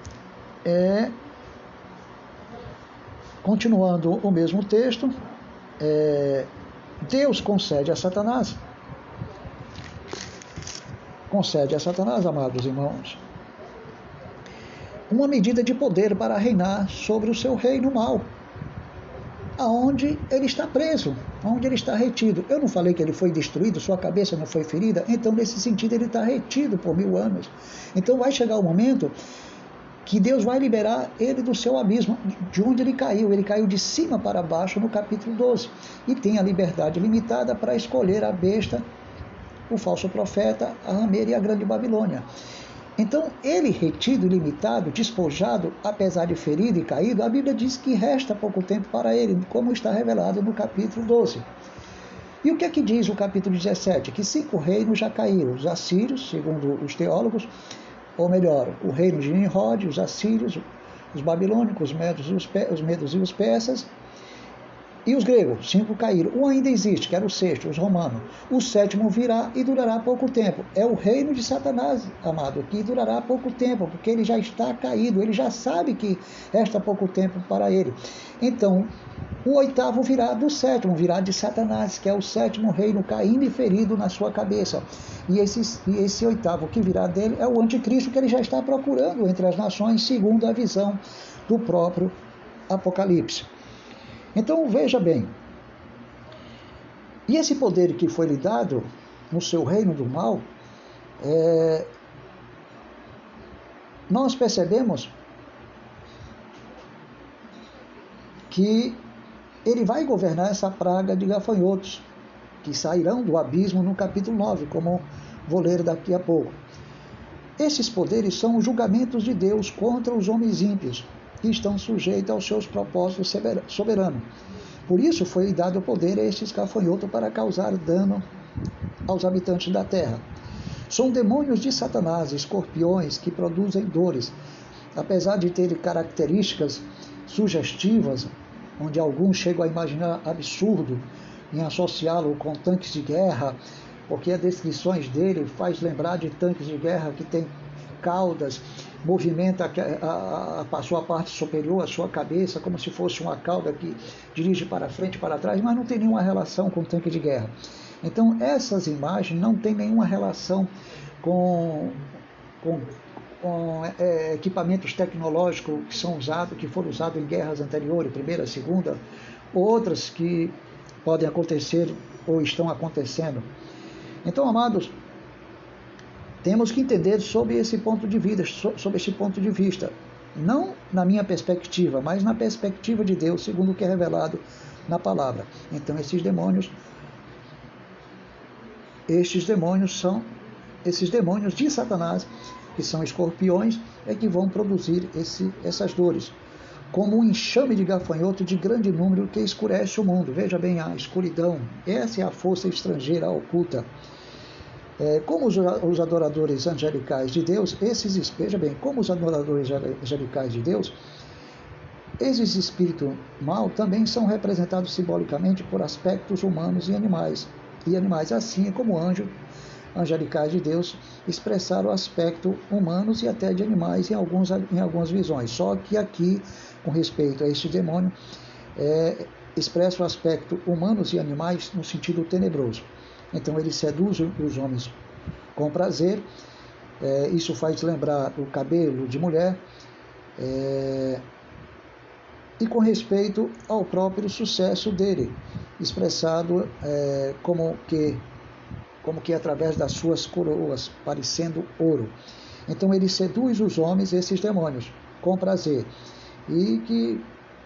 continuando o mesmo texto, Deus concede a Satanás, amados irmãos, uma medida de poder para reinar sobre o seu reino mal, aonde ele está preso, aonde ele está retido. Eu não falei que ele foi destruído, sua cabeça não foi ferida, então nesse sentido ele está retido por 1000 anos. Então vai chegar o momento que Deus vai liberar ele do seu abismo, de onde ele caiu de cima para baixo no capítulo 12, e tem a liberdade limitada para escolher a besta, o falso profeta, a rameira e a grande Babilônia. Então, ele retido, limitado, despojado, apesar de ferido e caído, a Bíblia diz que resta pouco tempo para ele, como está revelado no capítulo 12. E o que é que diz o capítulo 17? Que 5 reinos já caíram, os assírios, segundo os teólogos, ou melhor, o reino de Nimrod, os assírios, os babilônicos, os medos e os persas, e os gregos, 5 caíram. Um ainda existe, que era o 6º, os romanos. O 7º virá e durará pouco tempo. É o reino de Satanás, amado, que durará pouco tempo, porque ele já está caído, ele já sabe que resta pouco tempo para ele. Então, o oitavo virá do sétimo, virá de Satanás, que é o sétimo reino caindo e ferido na sua cabeça. E esse oitavo que virá dele é o anticristo que ele já está procurando entre as nações, segundo a visão do próprio Apocalipse. Então veja bem, e esse poder que foi lhe dado no seu reino do mal, nós percebemos que ele vai governar essa praga de gafanhotos, que sairão do abismo no capítulo 9, como vou ler daqui a pouco. Esses poderes são os julgamentos de Deus contra os homens ímpios, que estão sujeitos aos seus propósitos soberanos. Por isso foi dado o poder a estes gafanhotos para causar dano aos habitantes da terra. São demônios de Satanás, escorpiões, que produzem dores. Apesar de terem características sugestivas, onde alguns chegam a imaginar absurdo em associá-lo com tanques de guerra, porque as descrições dele faz lembrar de tanques de guerra que tem caudas, movimenta a sua parte superior, a sua cabeça, como se fosse uma cauda que dirige para frente e para trás, mas não tem nenhuma relação com tanque de guerra. Então essas imagens não têm nenhuma relação com equipamentos tecnológicos que foram usados em guerras anteriores, Primeira, Segunda, outras que podem acontecer ou estão acontecendo. Então, amados, temos que entender sobre esse ponto de vista, não na minha perspectiva, mas na perspectiva de Deus, segundo o que é revelado na palavra. Então, esses demônios são esses demônios de Satanás, que são escorpiões, é que vão produzir essas dores, como um enxame de gafanhoto de grande número que escurece o mundo. Veja bem, a escuridão, essa é a força estrangeira oculta. Como os adoradores angelicais de Deus, como os adoradores angelicais de Deus, esses espíritos mal também são representados simbolicamente por aspectos humanos e animais, assim como anjos angelicais de Deus expressaram o aspecto humanos e até de animais em algumas visões. Só que aqui, com respeito a este demônio, expressa o aspecto humanos e animais no sentido tenebroso. Então ele seduz os homens com prazer, isso faz lembrar o cabelo de mulher, e com respeito ao próprio sucesso dele, expressado como que através das suas coroas, parecendo ouro. Então ele seduz os homens, esses demônios, com prazer. E que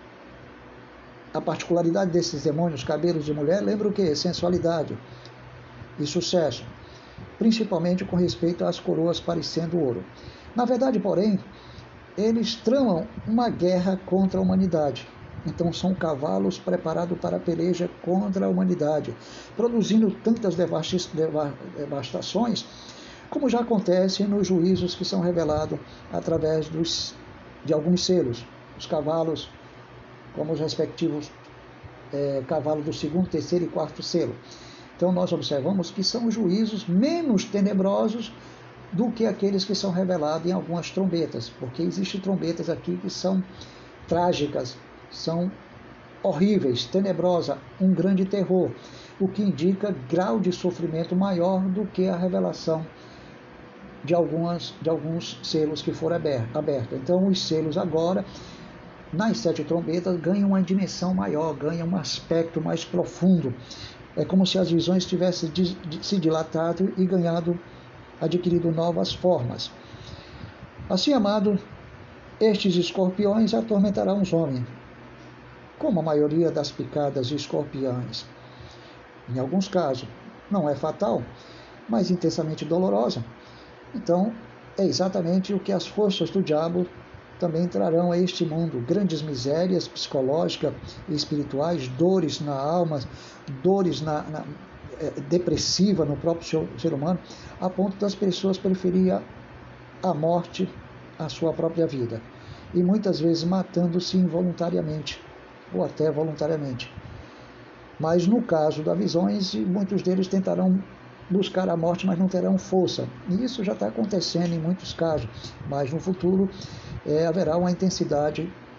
a particularidade desses demônios, cabelos de mulher, lembra o quê? Sensualidade e sucesso, principalmente com respeito às coroas parecendo ouro. Na verdade, porém, eles tramam uma guerra contra a humanidade. Então são cavalos preparados para a peleja contra a humanidade, produzindo tantas devastações, como já acontece nos juízos que são revelados através de alguns selos. Os cavalos, como os respectivos cavalos do segundo, terceiro e quarto selo. Então nós observamos que são juízos menos tenebrosos do que aqueles que são revelados em algumas trombetas, porque existem trombetas aqui que são trágicas, são horríveis, tenebrosas, um grande terror, o que indica grau de sofrimento maior do que a revelação de alguns selos que foram abertos. Então os selos agora, nas 7 trombetas, ganham uma dimensão maior, ganham um aspecto mais profundo. É como se as visões tivessem se dilatado e adquirido novas formas. Assim, amado, estes escorpiões atormentarão os homens, como a maioria das picadas de escorpiões. Em alguns casos, não é fatal, mas intensamente dolorosa. Então, é exatamente o que as forças do diabo também trarão a este mundo: grandes misérias psicológicas e espirituais, dores na alma, dores depressiva no próprio ser humano, a ponto das pessoas preferirem a morte à sua própria vida, e muitas vezes matando-se involuntariamente ou até voluntariamente. Mas no caso das visões, muitos deles tentarão buscar a morte, mas não terão força. E isso já está acontecendo em muitos casos, mas no futuro haverá uma intensidade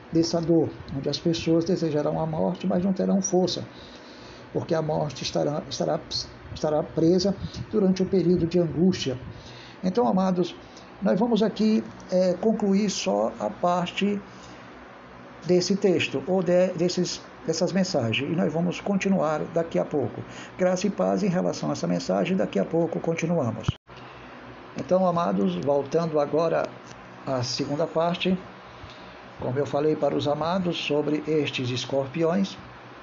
dessa dor, onde as pessoas desejarão a morte, mas não terão força, porque a morte estará presa durante o período de angústia. Então, amados, nós vamos aqui concluir só a parte desse texto, ou dessas mensagens, e nós vamos continuar daqui a pouco. Graça e paz em relação a essa mensagem, daqui a pouco continuamos. Então, amados, voltando agora à segunda parte, como eu falei para os amados sobre estes escorpiões,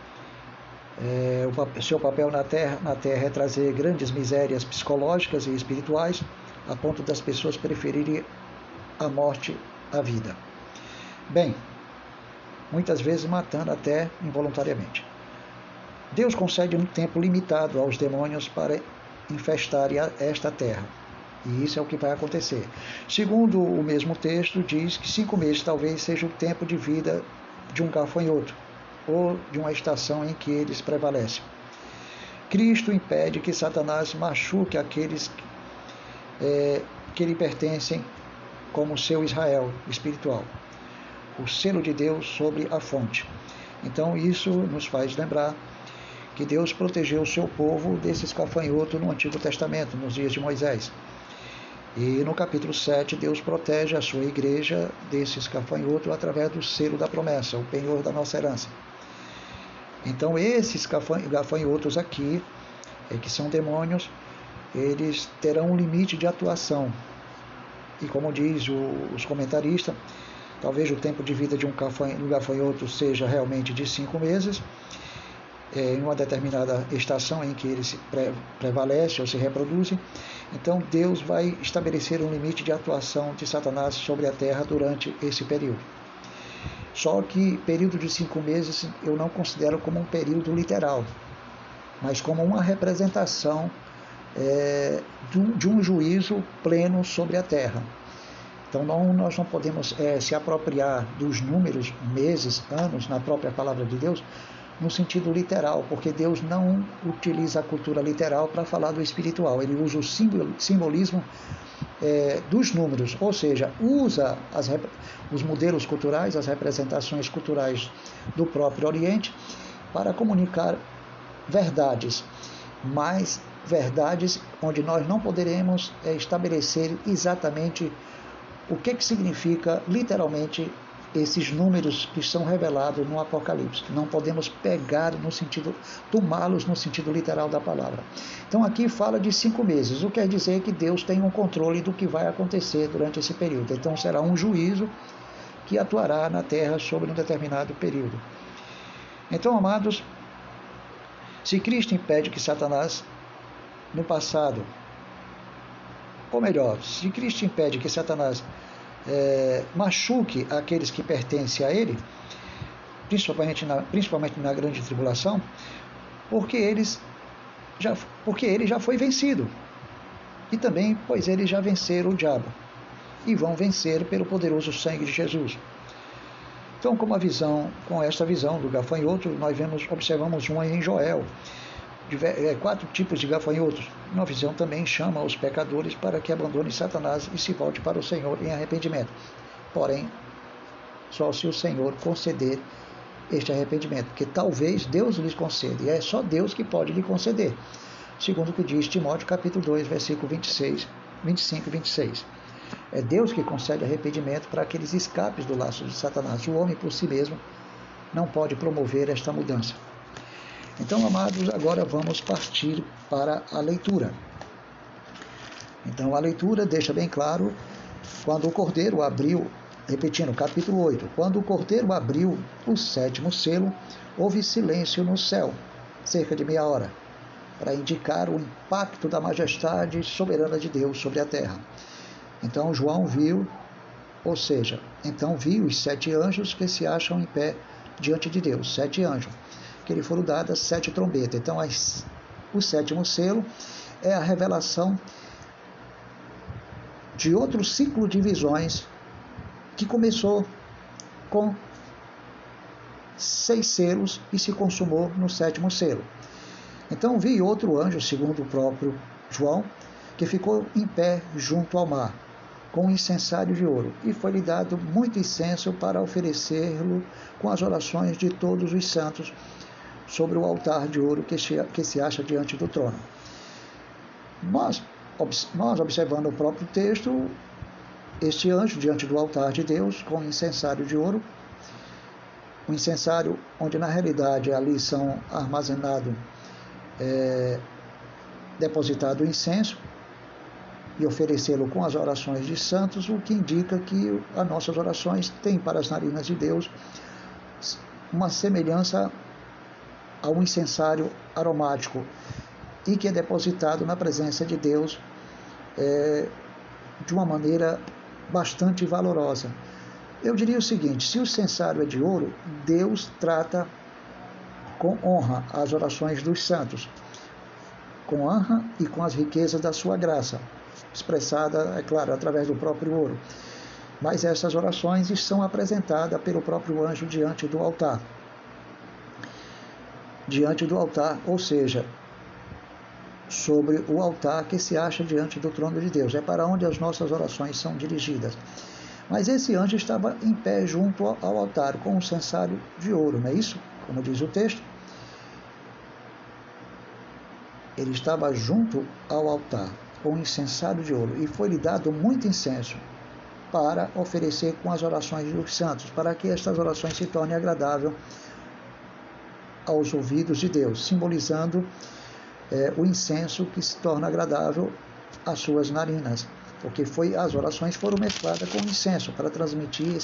o seu papel na Terra é trazer grandes misérias psicológicas e espirituais, a ponto das pessoas preferirem a morte à vida. Bem, muitas vezes matando até involuntariamente. Deus concede um tempo limitado aos demônios para infestarem esta terra. E isso é o que vai acontecer. Segundo o mesmo texto, diz que 5 meses talvez seja o tempo de vida de um gafanhoto, ou de uma estação em que eles prevalecem. Cristo impede que Satanás machuque aqueles que lhe pertencem como seu Israel espiritual. O selo de Deus sobre a fonte. Então isso nos faz lembrar que Deus protegeu o seu povo desses gafanhotos no Antigo Testamento, nos dias de Moisés. E no capítulo 7, Deus protege a sua igreja desses gafanhotos através do selo da promessa, o penhor da nossa herança. Então esses gafanhotos aqui, que são demônios, eles terão um limite de atuação. E como diz os comentaristas, talvez o tempo de vida de um gafanhoto seja realmente de 5 meses, em uma determinada estação em que eles prevalecem ou se reproduzem. Então Deus vai estabelecer um limite de atuação de Satanás sobre a terra durante esse período. Só que período de 5 meses eu não considero como um período literal, mas como uma representação de um juízo pleno sobre a terra. Então nós não podemos se apropriar dos números, meses, anos, na própria palavra de Deus, no sentido literal, porque Deus não utiliza a cultura literal para falar do espiritual. Ele usa o simbolismo dos números, ou seja, usa os modelos culturais, as representações culturais do próprio Oriente para comunicar verdades, mas verdades onde nós não poderemos estabelecer exatamente o que significa literalmente esses números que são revelados no Apocalipse. Não podemos pegar no sentido, tomá-los no sentido literal da palavra. Então aqui fala de 5 meses, o que quer dizer que Deus tem um controle do que vai acontecer durante esse período. Então será um juízo que atuará na terra sobre um determinado período. Então, amados, se Cristo impede que Satanás, no passado, ou melhor, se Cristo impede que Satanás machuque aqueles que pertencem a ele, principalmente na grande tribulação, porque ele já foi vencido, e também pois eles já venceram o diabo e vão vencer pelo poderoso sangue de Jesus. Então, com esta visão do gafanhoto, nós observamos uma em Joel, 4 tipos de gafanhotos. Uma visão também chama os pecadores para que abandonem Satanás e se volte para o Senhor em arrependimento. Porém, só se o Senhor conceder este arrependimento, porque talvez Deus lhes conceda, e é só Deus que pode lhe conceder, segundo o que diz Timóteo capítulo 2, versículo 25 e 26. É Deus que concede arrependimento para aqueles escapes do laço de Satanás. O homem por si mesmo não pode promover esta mudança. Então, amados, agora vamos partir para a leitura. Então, a leitura deixa bem claro, quando o Cordeiro abriu, repetindo, capítulo 8, quando o Cordeiro abriu o 7º selo, houve silêncio no céu, cerca de meia hora, para indicar o impacto da majestade soberana de Deus sobre a terra. Então, João viu, ou seja, então viu os 7 anjos que se acham em pé diante de Deus, 7 anjos, que lhe foram dadas 7 trombetas. Então, o 7º selo é a revelação de outro ciclo de visões que começou com 6 selos e se consumou no 7º selo. Então, vi outro anjo, segundo o próprio João, que ficou em pé junto ao mar. com incensário de ouro, e foi-lhe dado muito incenso para oferecê-lo com as orações de todos os santos sobre o altar de ouro que se acha diante do trono. Nós observando o próprio texto, este anjo diante do altar de Deus com incensário de ouro, um incensário onde na realidade ali são armazenados, depositado o incenso, e oferecê-lo com as orações de santos, o que indica que as nossas orações têm para as narinas de Deus uma semelhança a um incensário aromático e que é depositado na presença de Deus de uma maneira bastante valorosa. Eu diria o seguinte: se o incensário é de ouro, Deus trata com honra as orações dos santos, com honra e com as riquezas da sua graça, expressada, é claro, através do próprio ouro. Mas essas orações são apresentadas pelo próprio anjo diante do altar. Diante do altar, ou seja, sobre o altar que se acha diante do trono de Deus. É para onde as nossas orações são dirigidas. Mas esse anjo estava em pé junto ao altar, com um incensário de ouro, não é isso? Como diz o texto. Ele estava junto ao altar, com um incensário de ouro, e foi-lhe dado muito incenso para oferecer com as orações dos santos, para que estas orações se tornem agradáveis aos ouvidos de Deus, simbolizando o incenso que se torna agradável às suas narinas, porque as orações foram mescladas com incenso para transmitir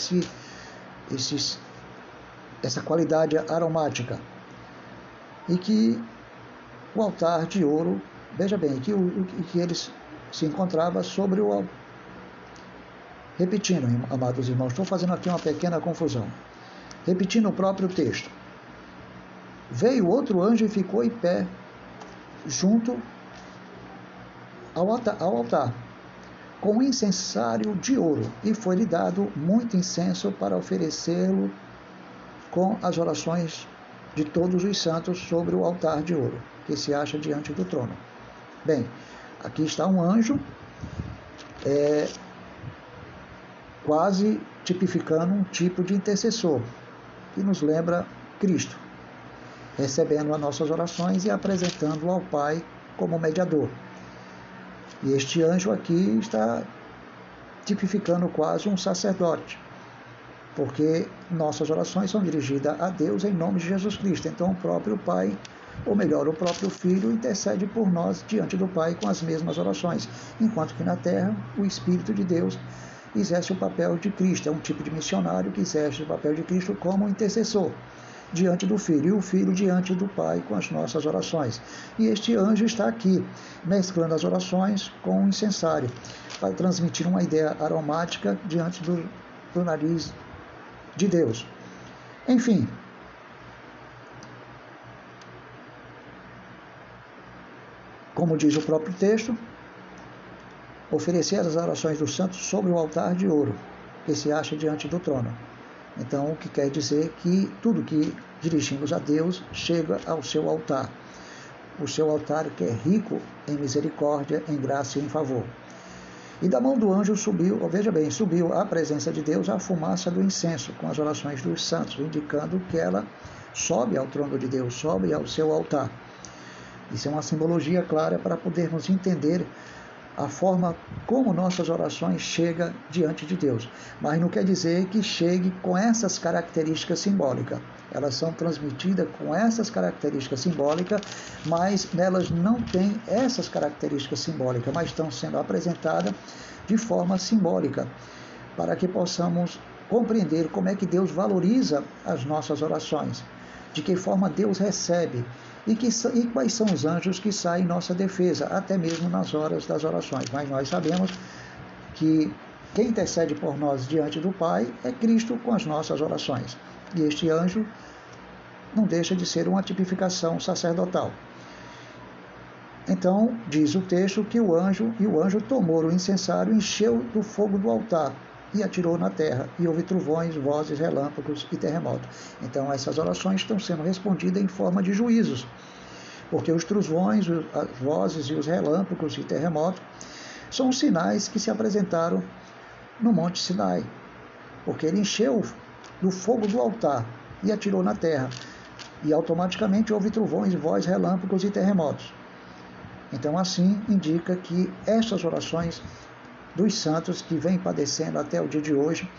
essa qualidade aromática. E que o altar de ouro, veja bem, que ele se encontrava sobre o altar. Repetindo, amados irmãos, estou fazendo aqui uma pequena confusão. Repetindo o próprio texto. Veio outro anjo e ficou em pé junto ao altar, com um incensário de ouro, e foi-lhe dado muito incenso para oferecê-lo com as orações de todos os santos sobre o altar de ouro, que se acha diante do trono. Bem, aqui está um anjo, quase tipificando um tipo de intercessor, que nos lembra Cristo, recebendo as nossas orações e apresentando ao Pai como mediador. E este anjo aqui está tipificando quase um sacerdote, porque nossas orações são dirigidas a Deus em nome de Jesus Cristo. Então o próprio Pai, ou melhor, o próprio Filho, intercede por nós diante do Pai com as mesmas orações, enquanto que na terra o Espírito de Deus exerce o papel de Cristo, é um tipo de missionário que exerce o papel de Cristo como intercessor diante do Filho, e o Filho diante do Pai com as nossas orações. E este anjo está aqui, mesclando as orações com o incensário, para transmitir uma ideia aromática diante do nariz de Deus. Enfim, como diz o próprio texto, oferecer as orações dos santos sobre o altar de ouro, que se acha diante do trono. Então, o que quer dizer que tudo que dirigimos a Deus chega ao seu altar. O seu altar que é rico em misericórdia, em graça e em favor. E da mão do anjo subiu, veja bem, subiu à presença de Deus a fumaça do incenso, com as orações dos santos, indicando que ela sobe ao trono de Deus, sobe ao seu altar. Isso é uma simbologia clara para podermos entender a forma como nossas orações chegam diante de Deus. Mas não quer dizer que chegue com essas características simbólicas. Elas são transmitidas com essas características simbólicas, mas nelas não têm essas características simbólicas, mas estão sendo apresentadas de forma simbólica, para que possamos compreender como é que Deus valoriza as nossas orações, de que forma Deus recebe, e quais são os anjos que saem em nossa defesa, até mesmo nas horas das orações. Mas nós sabemos que quem intercede por nós diante do Pai é Cristo com as nossas orações. E este anjo não deixa de ser uma tipificação sacerdotal. Então, diz o texto que o anjo tomou o incensário, encheu do fogo do altar e atirou na terra, e houve trovões, vozes, relâmpagos e terremotos. Então essas orações estão sendo respondidas em forma de juízos, porque os trovões, as vozes e os relâmpagos e terremotos são os sinais que se apresentaram no Monte Sinai, porque ele encheu do fogo do altar e atirou na terra, e automaticamente houve trovões, vozes, relâmpagos e terremotos. Então, assim, indica que estas orações dos santos que vêm padecendo até o dia de hoje,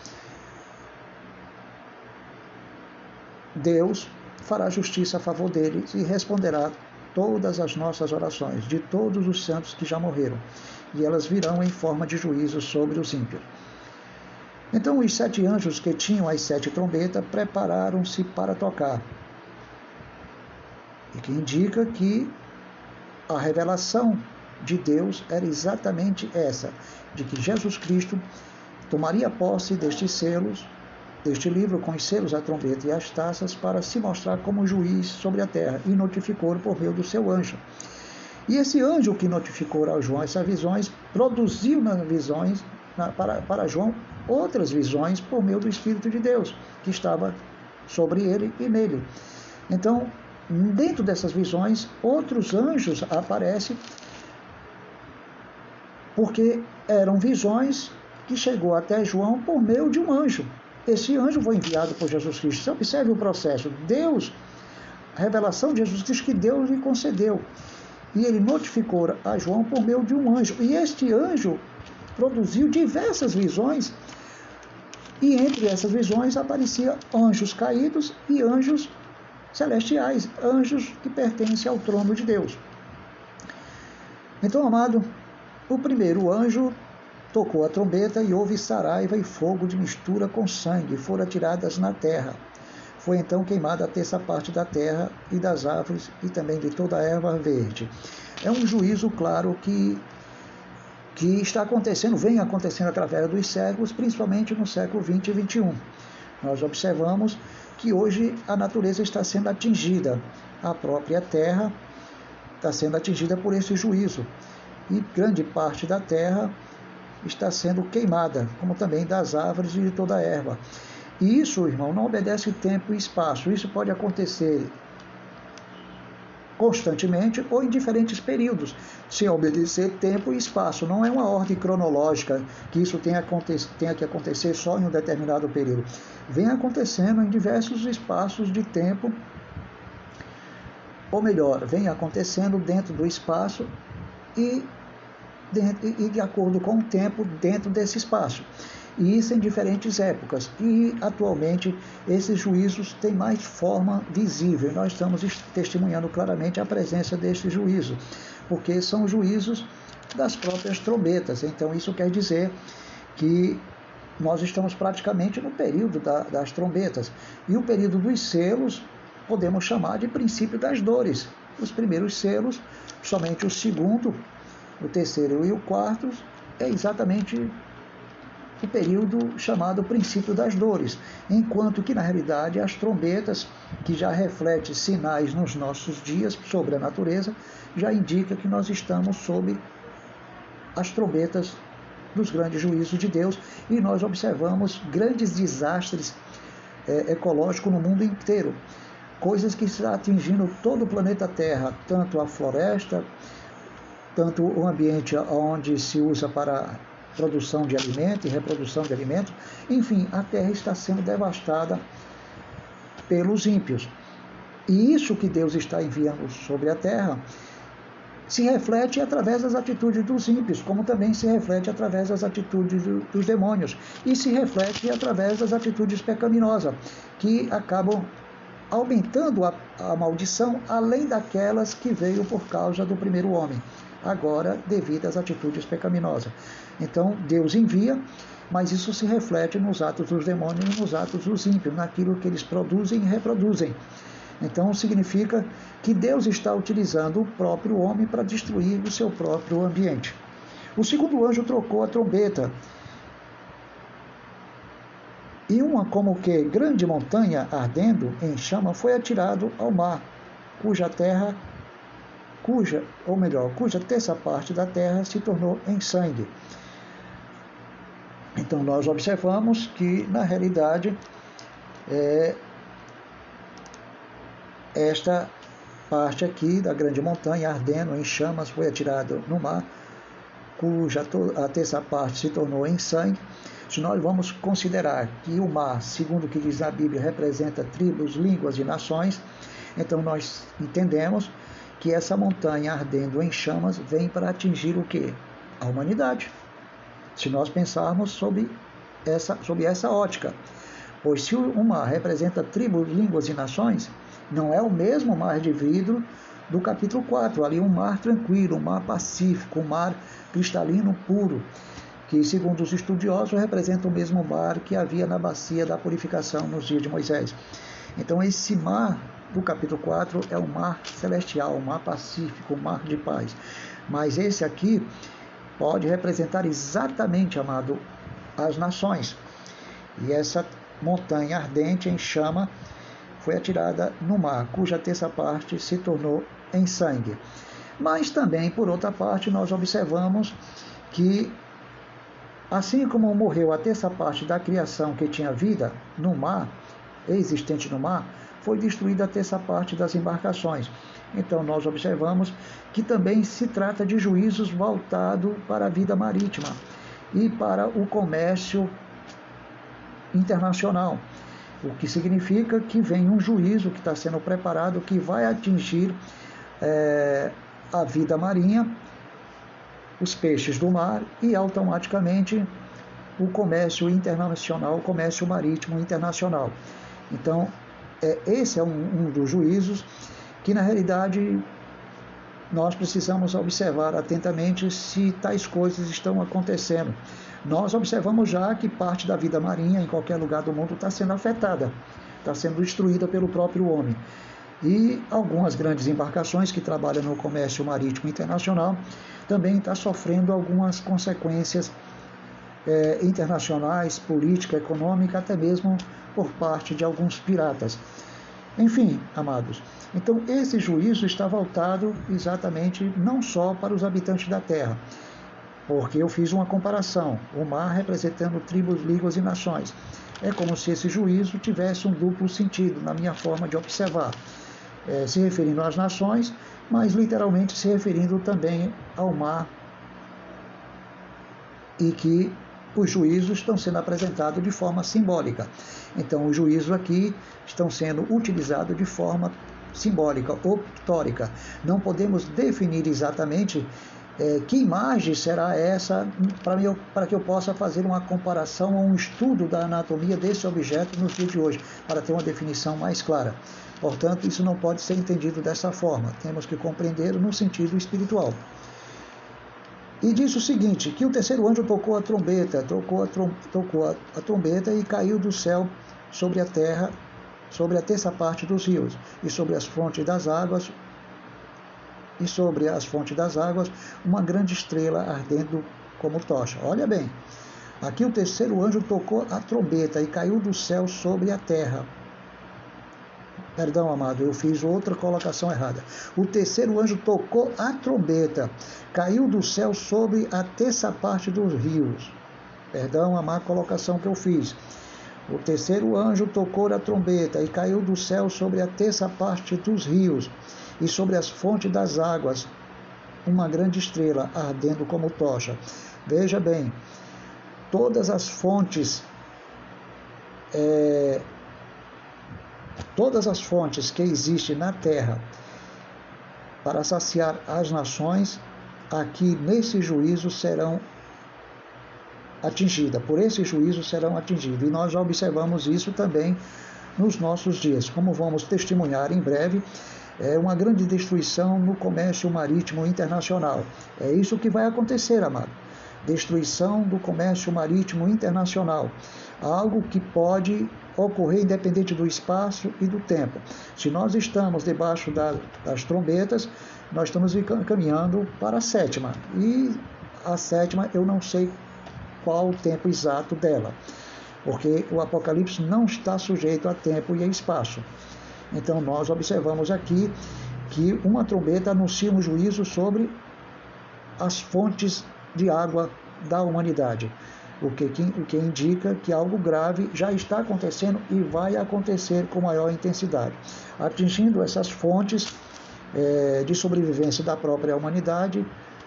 Deus fará justiça a favor deles e responderá todas as nossas orações, de todos os santos que já morreram, e elas virão em forma de juízo sobre os ímpios. Então os 7 anjos que tinham as 7 trombetas prepararam-se para tocar, e que indica que a revelação de Deus era exatamente essa, de que Jesus Cristo tomaria posse destes selos, deste livro com os selos, a trombeta e as taças, para se mostrar como juiz sobre a terra, e notificou por meio do seu anjo. E esse anjo que notificou a João essas visões, produziu nas visões, para João, outras visões por meio do Espírito de Deus, que estava sobre ele e nele. Então, dentro dessas visões, outros anjos aparecem, porque eram visões que chegou até João por meio de um anjo. Esse anjo foi enviado por Jesus Cristo. Você observe o processo. Deus, a revelação de Jesus Cristo que Deus lhe concedeu. E ele notificou a João por meio de um anjo. E este anjo produziu diversas visões. E entre essas visões apareciam anjos caídos e anjos celestiais, anjos que pertencem ao trono de Deus. Então, amado, o primeiro anjo tocou a trombeta e houve saraiva e fogo de mistura com sangue, foram atiradas na terra. Foi então queimada a terça parte da terra e das árvores e também de toda a erva verde. É um juízo claro que está acontecendo, vem acontecendo através dos séculos, principalmente no século 20 e 21. Nós observamos que hoje a natureza está sendo atingida, a própria terra está sendo atingida por esse juízo, e grande parte da terra está sendo queimada, como também das árvores e de toda a erva. E isso, irmão, não obedece tempo e espaço. Isso pode acontecer constantemente ou em diferentes períodos, sem obedecer tempo e espaço. Não é uma ordem cronológica que isso tenha que acontecer só em um determinado período. Vem acontecendo em diversos espaços de tempo, ou melhor, vem acontecendo dentro do espaço e de acordo com o tempo dentro desse espaço. E isso em diferentes épocas. E atualmente esses juízos têm mais forma visível. Nós estamos testemunhando claramente a presença deste juízo, porque são juízos das próprias trombetas. Então isso quer dizer que nós estamos praticamente no período das trombetas. E o período dos selos podemos chamar de princípio das dores. Os primeiros selos, somente o segundo, o terceiro e o quarto, é exatamente o período chamado princípio das dores, enquanto que na realidade as trombetas, que já refletem sinais nos nossos dias sobre a natureza, já indica que nós estamos sob as trombetas dos grandes juízos de Deus, e nós observamos grandes desastres ecológicos no mundo inteiro, coisas que estão atingindo todo o planeta Terra, tanto a floresta, tanto o ambiente onde se usa para produção de alimento e reprodução de alimento. Enfim, a terra está sendo devastada pelos ímpios. E isso que Deus está enviando sobre a terra se reflete através das atitudes dos ímpios, como também se reflete através das atitudes dos demônios, e se reflete através das atitudes pecaminosas, que acabam aumentando a maldição, além daquelas que veio por causa do primeiro homem, agora devido às atitudes pecaminosas. Então Deus envia, mas isso se reflete nos atos dos demônios e nos atos dos ímpios, naquilo que eles produzem e reproduzem. Então significa que Deus está utilizando o próprio homem para destruir o seu próprio ambiente. O segundo anjo trocou a trombeta, e uma como que grande montanha ardendo em chama foi atirado ao mar, cuja terça parte da terra se tornou em sangue. Então nós observamos que na realidade esta parte aqui da grande montanha ardendo em chamas foi atirada no mar, cuja a terça parte se tornou em sangue, se nós vamos considerar que o mar, segundo o que diz a Bíblia, representa tribos, línguas e nações, então nós entendemos que essa montanha ardendo em chamas vem para atingir o quê? A humanidade. Se nós pensarmos sob essa ótica. Pois se o mar representa tribos, línguas e nações, não é o mesmo mar de vidro do capítulo 4, ali um mar tranquilo, um mar pacífico, um mar cristalino puro, que, segundo os estudiosos, representa o mesmo mar que havia na bacia da purificação nos dias de Moisés. Então, esse mar do capítulo 4 é um mar celestial, um mar pacífico, um mar de paz. Mas esse aqui pode representar exatamente, amado, as nações. E essa montanha ardente em chama foi atirada no mar, cuja terça parte se tornou em sangue. Mas também, por outra parte, nós observamos que, assim como morreu a terça parte da criação que tinha vida no mar, existente no mar, foi destruída a terça parte das embarcações. Então nós observamos que também se trata de juízos voltados para a vida marítima e para o comércio internacional, o que significa que vem um juízo que está sendo preparado, que vai atingir a vida marinha, os peixes do mar e automaticamente o comércio internacional, o comércio marítimo internacional. Então, esse é um dos juízos que, na realidade, nós precisamos observar atentamente se tais coisas estão acontecendo. Nós observamos já que parte da vida marinha em qualquer lugar do mundo está sendo afetada, está sendo destruída pelo próprio homem. E algumas grandes embarcações que trabalham no comércio marítimo internacional também estão sofrendo algumas consequências internacionais, política, econômica, até mesmo por parte de alguns piratas. Enfim, amados, então esse juízo está voltado exatamente não só para os habitantes da terra, porque eu fiz uma comparação, o mar representando tribos, línguas e nações. É como se esse juízo tivesse um duplo sentido na minha forma de observar, se referindo às nações, mas literalmente se referindo também ao mar, e que os juízos estão sendo apresentados de forma simbólica. Então, os juízos aqui estão sendo utilizados de forma simbólica ou pictórica. Não podemos definir exatamente que imagem será essa para que eu possa fazer uma comparação ou um estudo da anatomia desse objeto nos dias de hoje, para ter uma definição mais clara. Portanto, isso não pode ser entendido dessa forma. Temos que compreender no sentido espiritual. E diz o seguinte, que o terceiro anjo tocou a trombeta, trombeta e caiu do céu sobre a terra, sobre a terça parte dos rios, e sobre as fontes das águas, uma grande estrela ardendo como tocha. Olha bem, aqui o terceiro anjo tocou a trombeta e caiu do céu sobre a terra. Perdão, amado, eu fiz outra colocação errada. O terceiro anjo tocou a trombeta, caiu do céu sobre a terça parte dos rios. Perdão, a má colocação que eu fiz. O terceiro anjo tocou a trombeta e caiu do céu sobre a terça parte dos rios e sobre as fontes das águas, uma grande estrela ardendo como tocha. Veja bem, todas as fontes que existem na terra para saciar as nações, aqui nesse juízo serão atingidas, por esse juízo serão atingidas. E nós já observamos isso também nos nossos dias, como vamos testemunhar em breve, uma grande destruição no comércio marítimo internacional. É isso que vai acontecer, amado. Destruição do comércio marítimo internacional. Algo que pode ocorrer independente do espaço e do tempo. Se nós estamos debaixo das trombetas, nós estamos caminhando para a sétima. E a sétima eu não sei qual o tempo exato dela, porque o Apocalipse não está sujeito a tempo e a espaço. Então nós observamos aqui que uma trombeta anuncia um juízo sobre as fontes de água da humanidade, o que indica que algo grave já está acontecendo e vai acontecer com maior intensidade, atingindo essas fontes de sobrevivência da própria humanidade,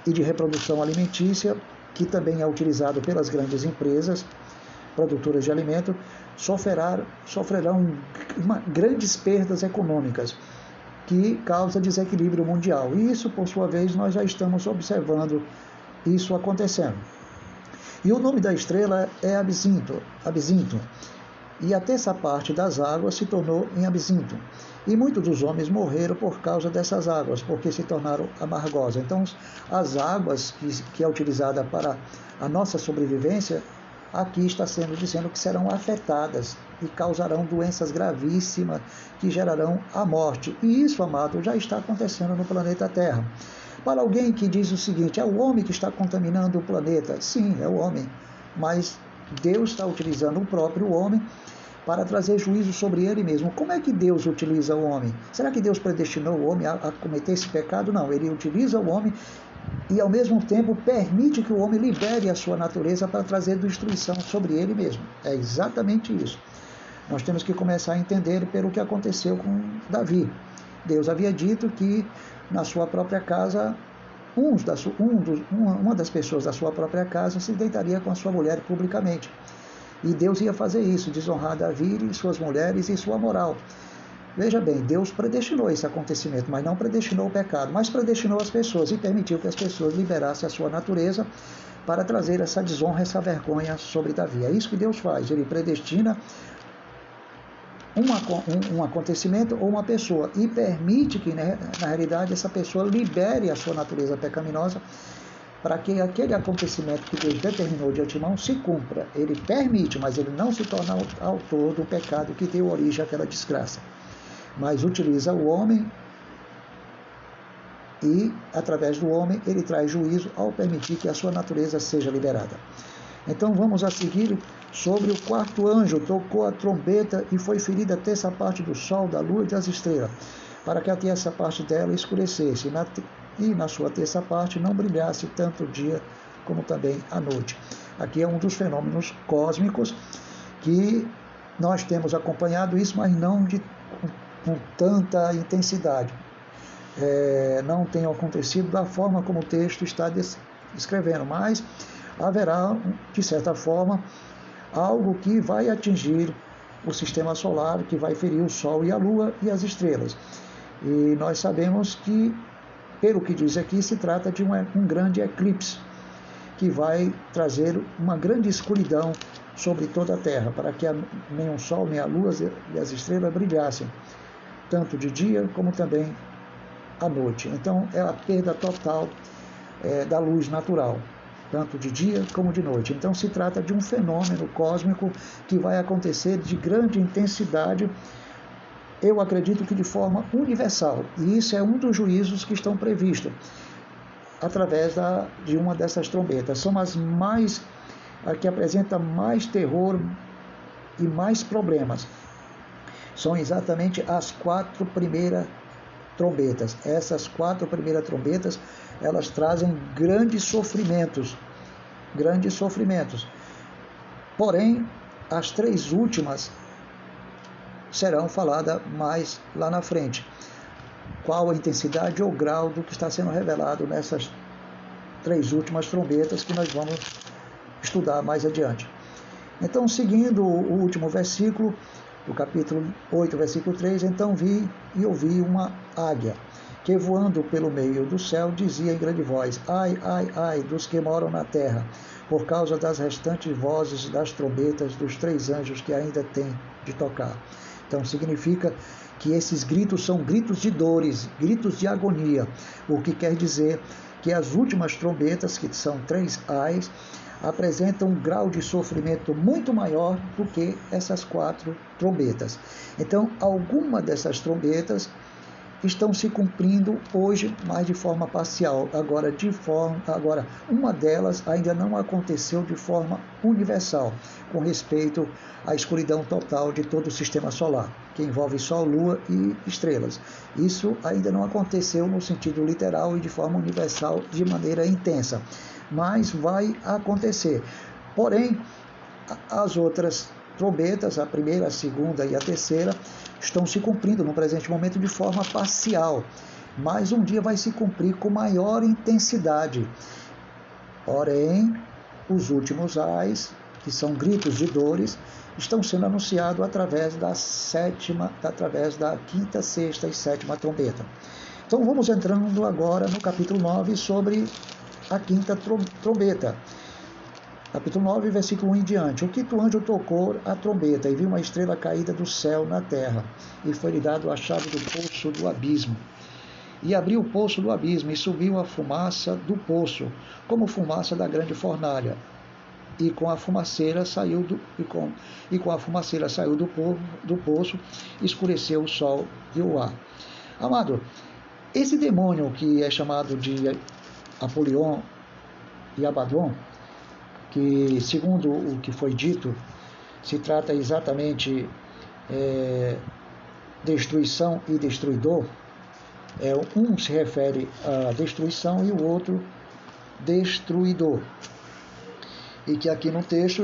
e de reprodução alimentícia, que também é utilizado pelas grandes empresas produtoras de alimento, sofrerão grandes perdas econômicas, que causa desequilíbrio mundial. E isso, por sua vez, nós já estamos observando isso acontecendo. E o nome da estrela é Absinto, e a terça parte das águas se tornou em absinto. E muitos dos homens morreram por causa dessas águas, porque se tornaram amargosas. Então, as águas que é utilizada para a nossa sobrevivência, aqui está sendo dizendo que serão afetadas e causarão doenças gravíssimas que gerarão a morte. E isso, amado, já está acontecendo no planeta Terra. Para alguém que diz o seguinte, é o homem que está contaminando o planeta. Sim, é o homem, mas Deus está utilizando o próprio homem para trazer juízo sobre ele mesmo. Como é que Deus utiliza o homem? Será que Deus predestinou o homem a cometer esse pecado? Não, ele utiliza o homem e ao mesmo tempo permite que o homem libere a sua natureza para trazer destruição sobre ele mesmo. É exatamente isso. Nós temos que começar a entender pelo que aconteceu com Davi. Deus havia dito que na sua própria casa, uma das pessoas da sua própria casa se deitaria com a sua mulher publicamente. E Deus ia fazer isso, desonrar Davi e suas mulheres e sua moral. Veja bem, Deus predestinou esse acontecimento, mas não predestinou o pecado, mas predestinou as pessoas e permitiu que as pessoas liberassem a sua natureza para trazer essa desonra, essa sobre Davi. É isso que Deus faz, ele predestina um acontecimento ou uma pessoa e permite que, na realidade, essa pessoa libere a sua natureza pecaminosa para que aquele acontecimento que Deus determinou de antemão se cumpra. Ele permite, mas ele não se torna autor do pecado que deu origem àquela desgraça. Mas utiliza o homem e, através do homem, ele traz juízo ao permitir que a sua natureza seja liberada. Então vamos a seguir sobre o quarto anjo, tocou a trombeta e foi ferida a terça parte do sol, da lua e das estrelas, para que a terça parte dela escurecesse, e na sua terça parte não brilhasse tanto o dia como também a noite. Aqui é um dos fenômenos cósmicos que nós temos acompanhado isso, mas não com tanta intensidade. Não tem acontecido da forma como o texto está descrevendo, mas haverá, de certa forma, algo que vai atingir o sistema solar, que vai ferir o Sol e a Lua e as estrelas. E nós sabemos que, pelo que diz aqui, se trata de um grande eclipse, que vai trazer uma grande escuridão sobre toda a Terra, para que nem o Sol, nem a Lua e as estrelas brilhassem, tanto de dia como também à noite. Então, é a perda total da luz natural, tanto de dia como de noite. Então, se trata de um fenômeno cósmico que vai acontecer de grande intensidade, eu acredito que de forma universal. E isso é um dos juízos que estão previstos através de uma dessas trombetas. São as que apresentam mais terror e mais problemas. São exatamente as 4 primeiras trombetas. Essas 4 primeiras trombetas, elas trazem grandes sofrimentos. Porém, as 3 últimas serão faladas mais lá na frente. Qual a intensidade ou grau do que está sendo revelado nessas 3 últimas trombetas que nós vamos estudar mais adiante. Então, seguindo o último versículo, do capítulo 8, versículo 3, então vi e ouvi uma águia, que voando pelo meio do céu dizia em grande voz, ai, ai, ai, dos que moram na terra, por causa das restantes vozes das trombetas dos 3 anjos que ainda têm de tocar. Então significa que esses gritos são gritos de dores, gritos de agonia, o que quer dizer que as últimas trombetas, que são 3 ais, apresentam um grau de sofrimento muito maior do que essas 4 trombetas. Então, algumas dessas trombetas estão se cumprindo hoje, mas de forma parcial. Agora, uma delas ainda não aconteceu de forma universal, com respeito à escuridão total de todo o sistema solar, que envolve Sol, Lua e estrelas. Isso ainda não aconteceu no sentido literal e de forma universal, de maneira intensa, mas vai acontecer. Porém, as outras trombetas, a primeira, a segunda e a terceira, estão se cumprindo no presente momento de forma parcial. mas um dia vai se cumprir com maior intensidade. Porém, os últimos ais, que são gritos de dores, estão sendo anunciados através da quinta, sexta e sétima trombeta. Então vamos entrando agora no capítulo 9 sobre a quinta trombeta. Capítulo 9, versículo 1 em diante. O quinto anjo tocou a trombeta e viu uma estrela caída do céu na terra, e foi-lhe dado a chave do poço do abismo. E abriu o poço do abismo, e subiu a fumaça do poço, como fumaça da grande fornalha. E com a fumaceira saiu do poço, escureceu o sol e o ar. Amado, esse demônio que é chamado de Apolion e Abaddon, que, segundo o que foi dito, se trata exatamente destruição e destruidor. Um se refere à destruição e o outro destruidor. E que aqui no texto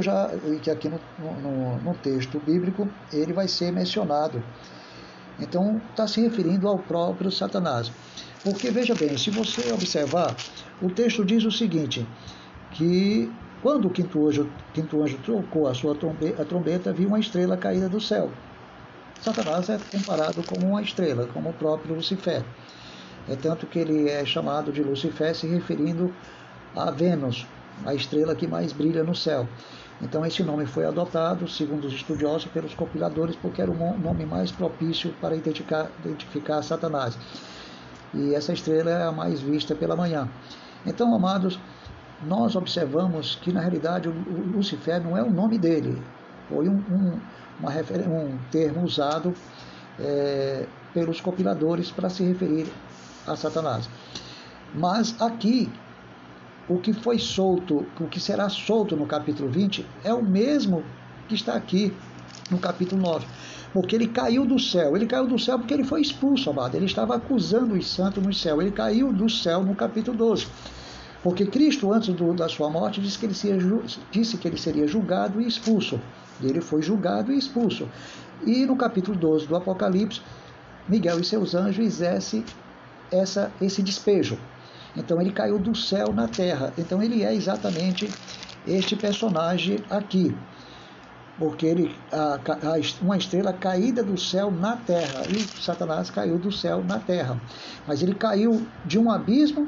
no texto bíblico ele vai ser mencionado. Então está se referindo ao próprio Satanás. Porque veja bem, se você observar, o texto diz o seguinte, que quando o quinto anjo tocou a sua trombeta, viu uma estrela caída do céu. Satanás é comparado como uma estrela, como o próprio Lucifer. É tanto que ele é chamado de Lucifer, se referindo a Vênus, a estrela que mais brilha no céu. Então esse nome foi adotado, segundo os estudiosos, pelos compiladores, porque era o nome mais propício para identificar Satanás. E essa estrela é a mais vista pela manhã. Então, amados, nós observamos que na realidade o Lucifer não é o nome dele, foi um termo usado pelos compiladores para se referir a Satanás. Mas aqui, o que foi solto, o que será solto no capítulo 20 é o mesmo que está aqui no capítulo 9. Porque ele caiu do céu. Ele caiu do céu porque ele foi expulso, amado. Ele estava acusando os santos no céu. Ele caiu do céu no capítulo 12. Porque Cristo, antes da sua morte, disse que ele seria julgado e expulso. E ele foi julgado e expulso. E no capítulo 12 do Apocalipse, Miguel e seus anjos exercem esse despejo. Então ele caiu do céu na terra. Então ele é exatamente este personagem aqui. Porque uma estrela caída do céu na terra. E Satanás caiu do céu na terra. Mas ele caiu de um abismo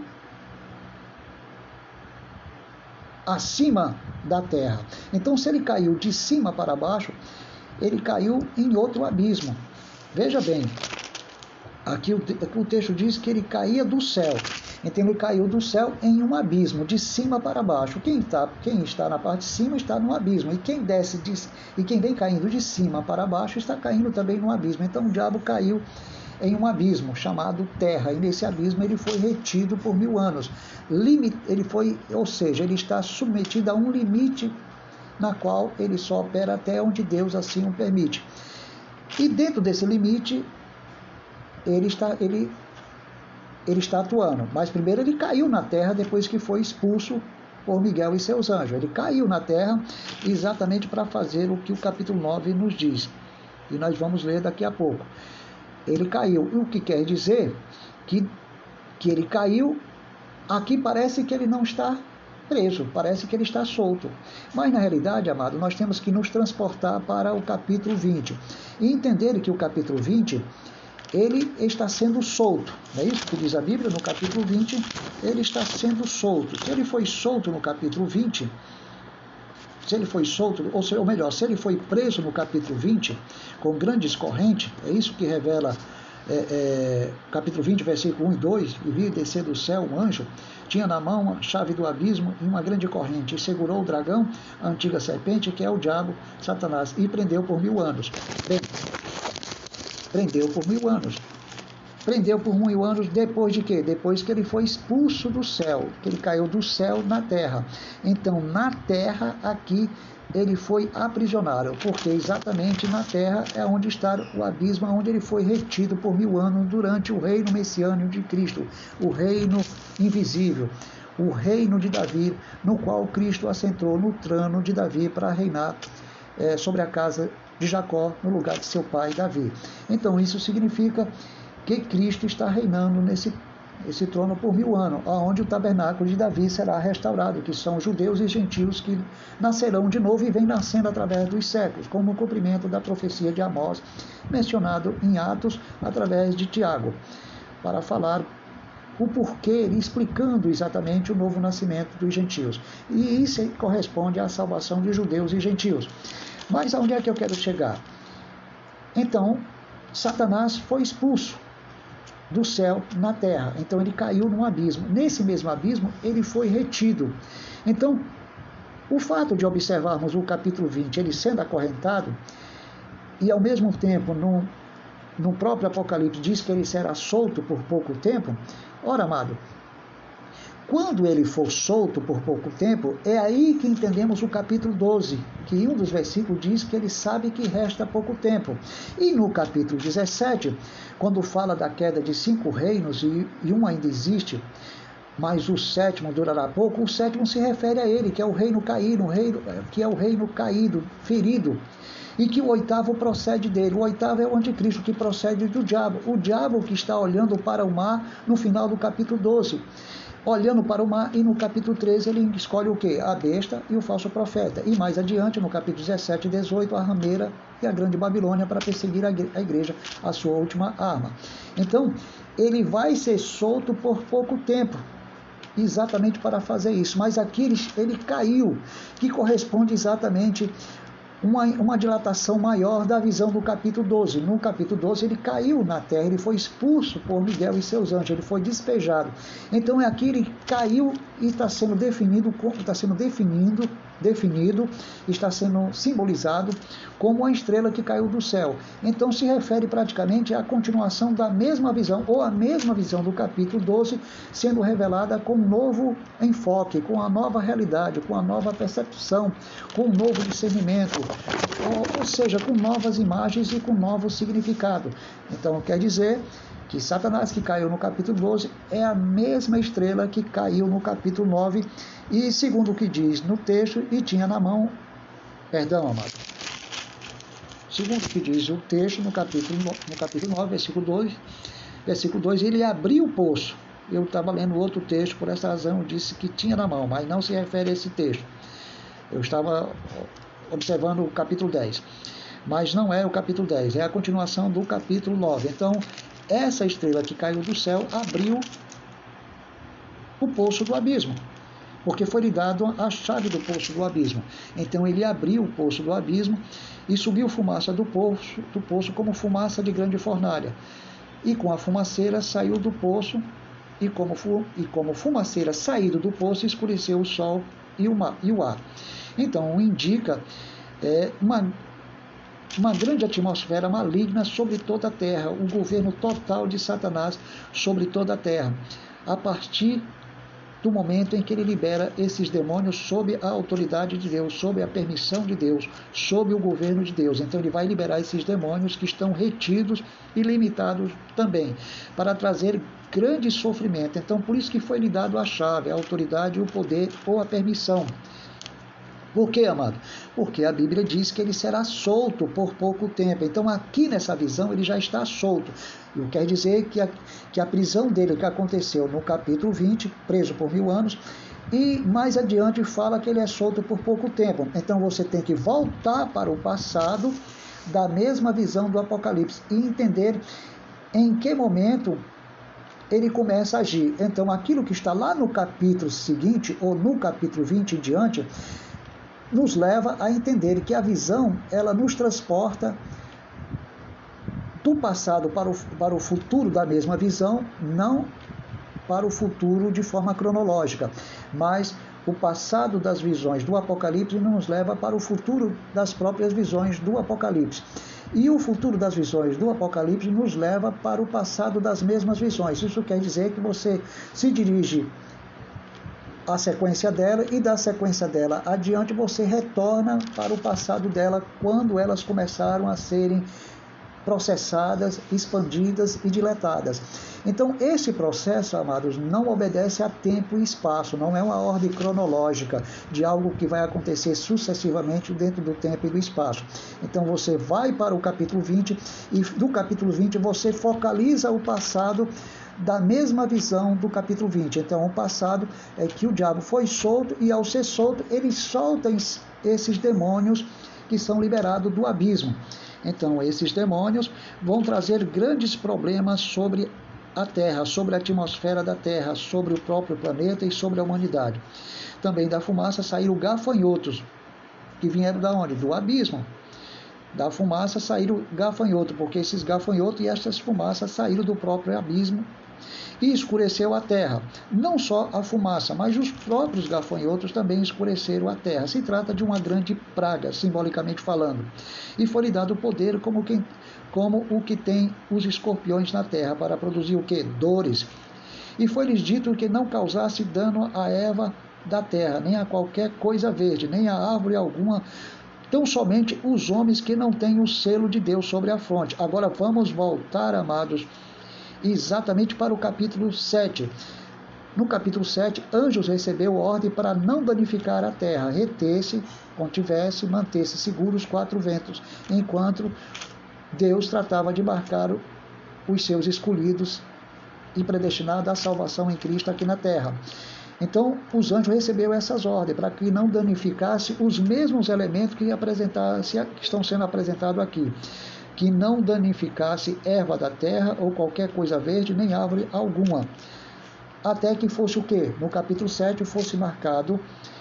acima da terra. Então, se ele caiu de cima para baixo, ele caiu em outro abismo. Veja bem, aqui o texto diz que ele caía do céu. Então ele caiu do céu em um abismo, de cima para baixo. Quem está na parte de cima está no abismo. E quem vem caindo de cima para baixo está caindo também no abismo. Então o diabo caiu em um abismo chamado terra. E nesse abismo ele foi retido por 1000 anos. Ele está submetido a um limite na qual ele só opera até onde Deus assim o permite. E dentro desse limite ele está atuando, mas primeiro ele caiu na terra depois que foi expulso por Miguel e seus anjos. Ele caiu na terra exatamente para fazer o que o capítulo 9 nos diz, e nós vamos ler daqui a pouco. Ele caiu, o que quer dizer que ele caiu, aqui parece que ele não está preso, parece que ele está solto. Mas na realidade, amado, nós temos que nos transportar para o capítulo 20 e entender que o capítulo 20 ele está sendo solto, não é isso que diz a Bíblia? No capítulo 20, ele está sendo solto. Se ele foi solto no capítulo 20, se ele foi solto, ou melhor, se ele foi preso no capítulo 20, com grandes correntes, é isso que revela capítulo 20, versículo 1 e 2, e vi descer do céu um anjo, tinha na mão a chave do abismo e uma grande corrente, e segurou o dragão, a antiga serpente, que é o diabo, Satanás, e prendeu por 1000 anos. Bem, prendeu por 1000 anos. Prendeu por 1000 anos depois de quê? Depois que ele foi expulso do céu, que ele caiu do céu na terra. Então, na terra, aqui, ele foi aprisionado, porque exatamente na terra é onde está o abismo, onde ele foi retido por 1000 anos durante o reino messiânico de Cristo, o reino invisível, o reino de Davi, no qual Cristo assentou no trono de Davi para reinar sobre a casa de Jacó, no lugar de seu pai Davi. Então isso significa que Cristo está reinando esse trono por 1000 anos, onde o tabernáculo de Davi será restaurado, que são judeus e gentios que nascerão de novo e vêm nascendo através dos séculos, como o cumprimento da profecia de Amós, mencionado em Atos, através de Tiago, para falar o porquê, explicando exatamente o novo nascimento dos gentios. E isso corresponde à salvação de judeus e gentios. Mas aonde é que eu quero chegar? Então, Satanás foi expulso do céu na terra. Então ele caiu num abismo. Nesse mesmo abismo, ele foi retido. Então, o fato de observarmos o capítulo 20, ele sendo acorrentado, e ao mesmo tempo, no próprio Apocalipse, diz que ele será solto por pouco tempo. Ora, amado, quando ele for solto por pouco tempo, é aí que entendemos o capítulo 12, que em um dos versículos diz que ele sabe que resta pouco tempo. E no capítulo 17, quando fala da queda de 5 reinos e um ainda existe, mas o 7º durará pouco, o 7º se refere a ele, que é o reino caído, que é o reino caído, ferido, e que o 8º procede dele. O 8º é o anticristo, que procede do diabo. O diabo que está olhando para o mar no final do capítulo 12. Olhando para o mar, e no capítulo 13 ele escolhe o quê? A besta e o falso profeta. E mais adiante, no capítulo 17 e 18, a rameira e a grande Babilônia, para perseguir a igreja, a sua última arma. Então, ele vai ser solto por pouco tempo, exatamente para fazer isso. Mas aqui ele caiu, que corresponde exatamente uma dilatação maior da visão do capítulo 12. No capítulo 12 ele caiu na terra, ele foi expulso por Miguel e seus anjos, ele foi despejado. Então aqui ele caiu e está sendo definido, está sendo simbolizado como a estrela que caiu do céu. Então se refere praticamente à continuação da mesma visão, ou a mesma visão do capítulo 12, sendo revelada com um novo enfoque, com a nova realidade, com a nova percepção, com um novo discernimento, ou seja, com novas imagens e com novo significado. Então quer dizer que Satanás, que caiu no capítulo 12, é a mesma estrela que caiu no capítulo 9, e segundo o que diz no texto, e tinha na mão, amado, segundo o que diz o texto no capítulo 9, versículo 2, ele abriu o poço. Eu estava lendo outro texto, por essa razão disse que tinha na mão, mas não se refere a esse texto. Eu estava observando o capítulo 10, mas não é o capítulo 10, é a continuação do capítulo 9. Então, essa estrela que caiu do céu abriu o poço do abismo, porque foi lhe dado a chave do poço do abismo. Então ele abriu o poço do abismo e subiu fumaça do poço como fumaça de grande fornalha. E com a fumaceira saiu do poço, e como fumaceira saído do poço, escureceu o sol e o ar. Então indica uma grande atmosfera maligna sobre toda a terra, o governo total de Satanás sobre toda a terra, a partir do momento em que ele libera esses demônios sob a autoridade de Deus, sob a permissão de Deus, sob o governo de Deus. Então ele vai liberar esses demônios que estão retidos e limitados também, para trazer grande sofrimento. Então por isso que foi lhe dado a chave, a autoridade, o poder ou a permissão. Por quê, amado? Porque a Bíblia diz que ele será solto por pouco tempo. Então aqui nessa visão ele já está solto. Eu quero dizer que a prisão dele que aconteceu no capítulo 20, preso por 1000 anos, e mais adiante fala que ele é solto por pouco tempo. Então você tem que voltar para o passado da mesma visão do Apocalipse e entender em que momento ele começa a agir. Então aquilo que está lá no capítulo seguinte, ou no capítulo 20 em diante, nos leva a entender que a visão, ela nos transporta do passado para o futuro da mesma visão, não para o futuro de forma cronológica, mas o passado das visões do Apocalipse nos leva para o futuro das próprias visões do Apocalipse. E o futuro das visões do Apocalipse nos leva para o passado das mesmas visões. Isso quer dizer que você se dirige a sequência dela, e da sequência dela adiante você retorna para o passado dela, quando elas começaram a serem processadas, expandidas e dilatadas. Então, esse processo, amados, não obedece a tempo e espaço, não é uma ordem cronológica de algo que vai acontecer sucessivamente dentro do tempo e do espaço. Então, você vai para o capítulo 20 e do capítulo 20 você focaliza o passado da mesma visão do capítulo 20. Então, o passado é que o diabo foi solto e, ao ser solto, ele solta esses demônios que são liberados do abismo. Então, esses demônios vão trazer grandes problemas sobre a Terra, sobre a atmosfera da Terra, sobre o próprio planeta e sobre a humanidade. Também da fumaça saíram gafanhotos, que vieram da onde? Do abismo. Da fumaça saíram gafanhotos, porque esses gafanhotos e essas fumaças saíram do próprio abismo e escureceu a terra. Não só a fumaça, mas os próprios gafanhotos também escureceram a terra. Se trata de uma grande praga, simbolicamente falando. E foi-lhe dado o poder como o que tem os escorpiões na terra, para produzir o quê? Dores. E foi-lhes dito que não causasse dano à erva da terra, nem a qualquer coisa verde, nem a árvore alguma, tão somente os homens que não têm o selo de Deus sobre a fronte. Agora vamos voltar, amados, exatamente para o capítulo 7. No capítulo 7, anjos recebeu ordem para não danificar a terra, reter-se, contivesse, manter-se seguros 4 ventos, enquanto Deus tratava de marcar os seus escolhidos e predestinados à salvação em Cristo aqui na terra. Então, os anjos receberam essas ordens para que não danificasse os mesmos elementos que estão sendo apresentados aqui. Que não danificasse erva da terra ou qualquer coisa verde, nem árvore alguma. Até que fosse o quê? No capítulo 7 fosse marcado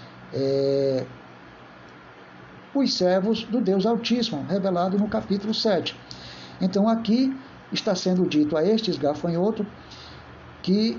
os servos do Deus Altíssimo, revelado no capítulo 7. Então aqui está sendo dito a estes gafanhotos que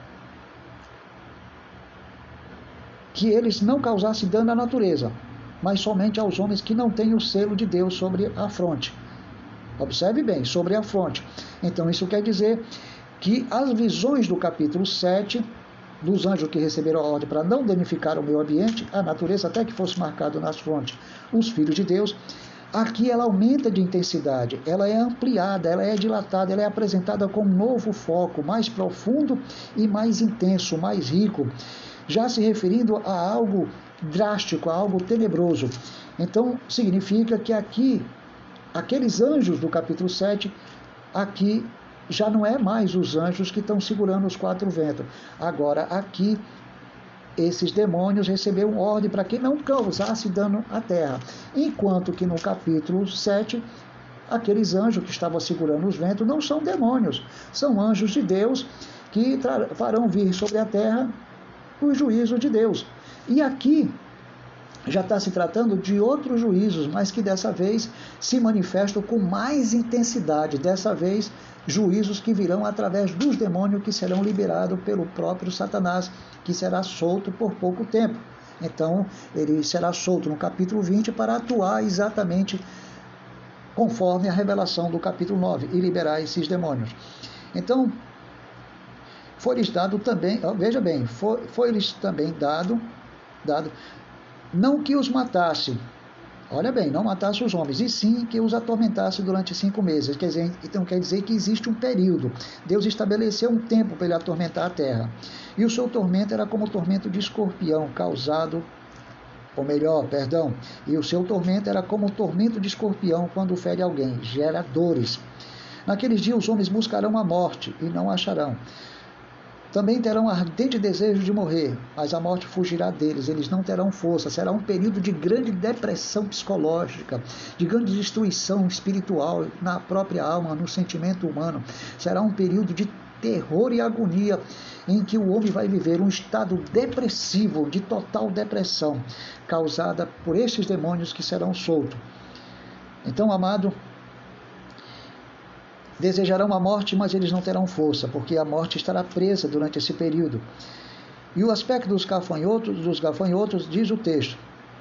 eles não causassem dano à natureza, mas somente aos homens que não têm o selo de Deus sobre a fronte. Observe bem, sobre a fronte. Então isso quer dizer que as visões do capítulo 7, dos anjos que receberam a ordem para não danificar o meio ambiente, a natureza, até que fosse marcado nas frontes os filhos de Deus, aqui ela aumenta de intensidade, ela é ampliada, ela é dilatada, ela é apresentada com um novo foco, mais profundo e mais intenso, mais rico, já se referindo a algo drástico, a algo tenebroso. Então significa que aqui aqueles anjos do capítulo 7, aqui já não é mais os anjos que estão segurando os 4 ventos. Agora, aqui, esses demônios receberam ordem para que não causasse dano à terra. Enquanto que no capítulo 7, aqueles anjos que estavam segurando os ventos não são demônios, são anjos de Deus que farão vir sobre a terra o juízo de Deus. E aqui já está se tratando de outros juízos, mas que dessa vez se manifestam com mais intensidade. Dessa vez, juízos que virão através dos demônios que serão liberados pelo próprio Satanás, que será solto por pouco tempo. Então, ele será solto no capítulo 20 para atuar exatamente conforme a revelação do capítulo 9 e liberar esses demônios. Então, foi-lhes dado também, veja bem, foi-lhes também dado não que os matasse, olha bem, não matasse os homens, e sim que os atormentasse durante 5 meses. Então quer dizer que existe um período. Deus estabeleceu um tempo para ele atormentar a terra. E o seu tormento era como o tormento de escorpião e o seu tormento era como o tormento de escorpião quando fere alguém, gera dores. Naqueles dias os homens buscarão a morte e não acharão. Também terão ardente desejo de morrer, mas a morte fugirá deles, eles não terão força. Será um período de grande depressão psicológica, de grande destruição espiritual na própria alma, no sentimento humano. Será um período de terror e agonia, em que o homem vai viver um estado depressivo, de total depressão, causada por estes demônios que serão soltos. Então, amado, desejarão a morte, mas eles não terão força, porque a morte estará presa durante esse período. E o aspecto dos gafanhotos diz o texto.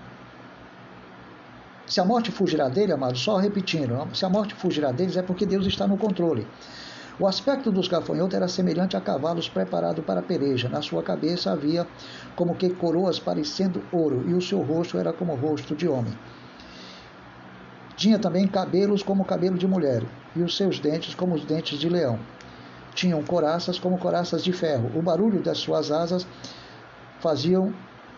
Se a morte fugirá dele, amado, só repetindo, se a morte fugirá deles é porque Deus está no controle. O aspecto dos gafanhotos era semelhante a cavalos preparados para a peleja. Na sua cabeça havia como que coroas parecendo ouro, e o seu rosto era como o rosto de homem. Tinha também cabelos como cabelo de mulher, e os seus dentes como os dentes de leão. Tinham coraças como coraças de ferro. O barulho que as suas asas faziam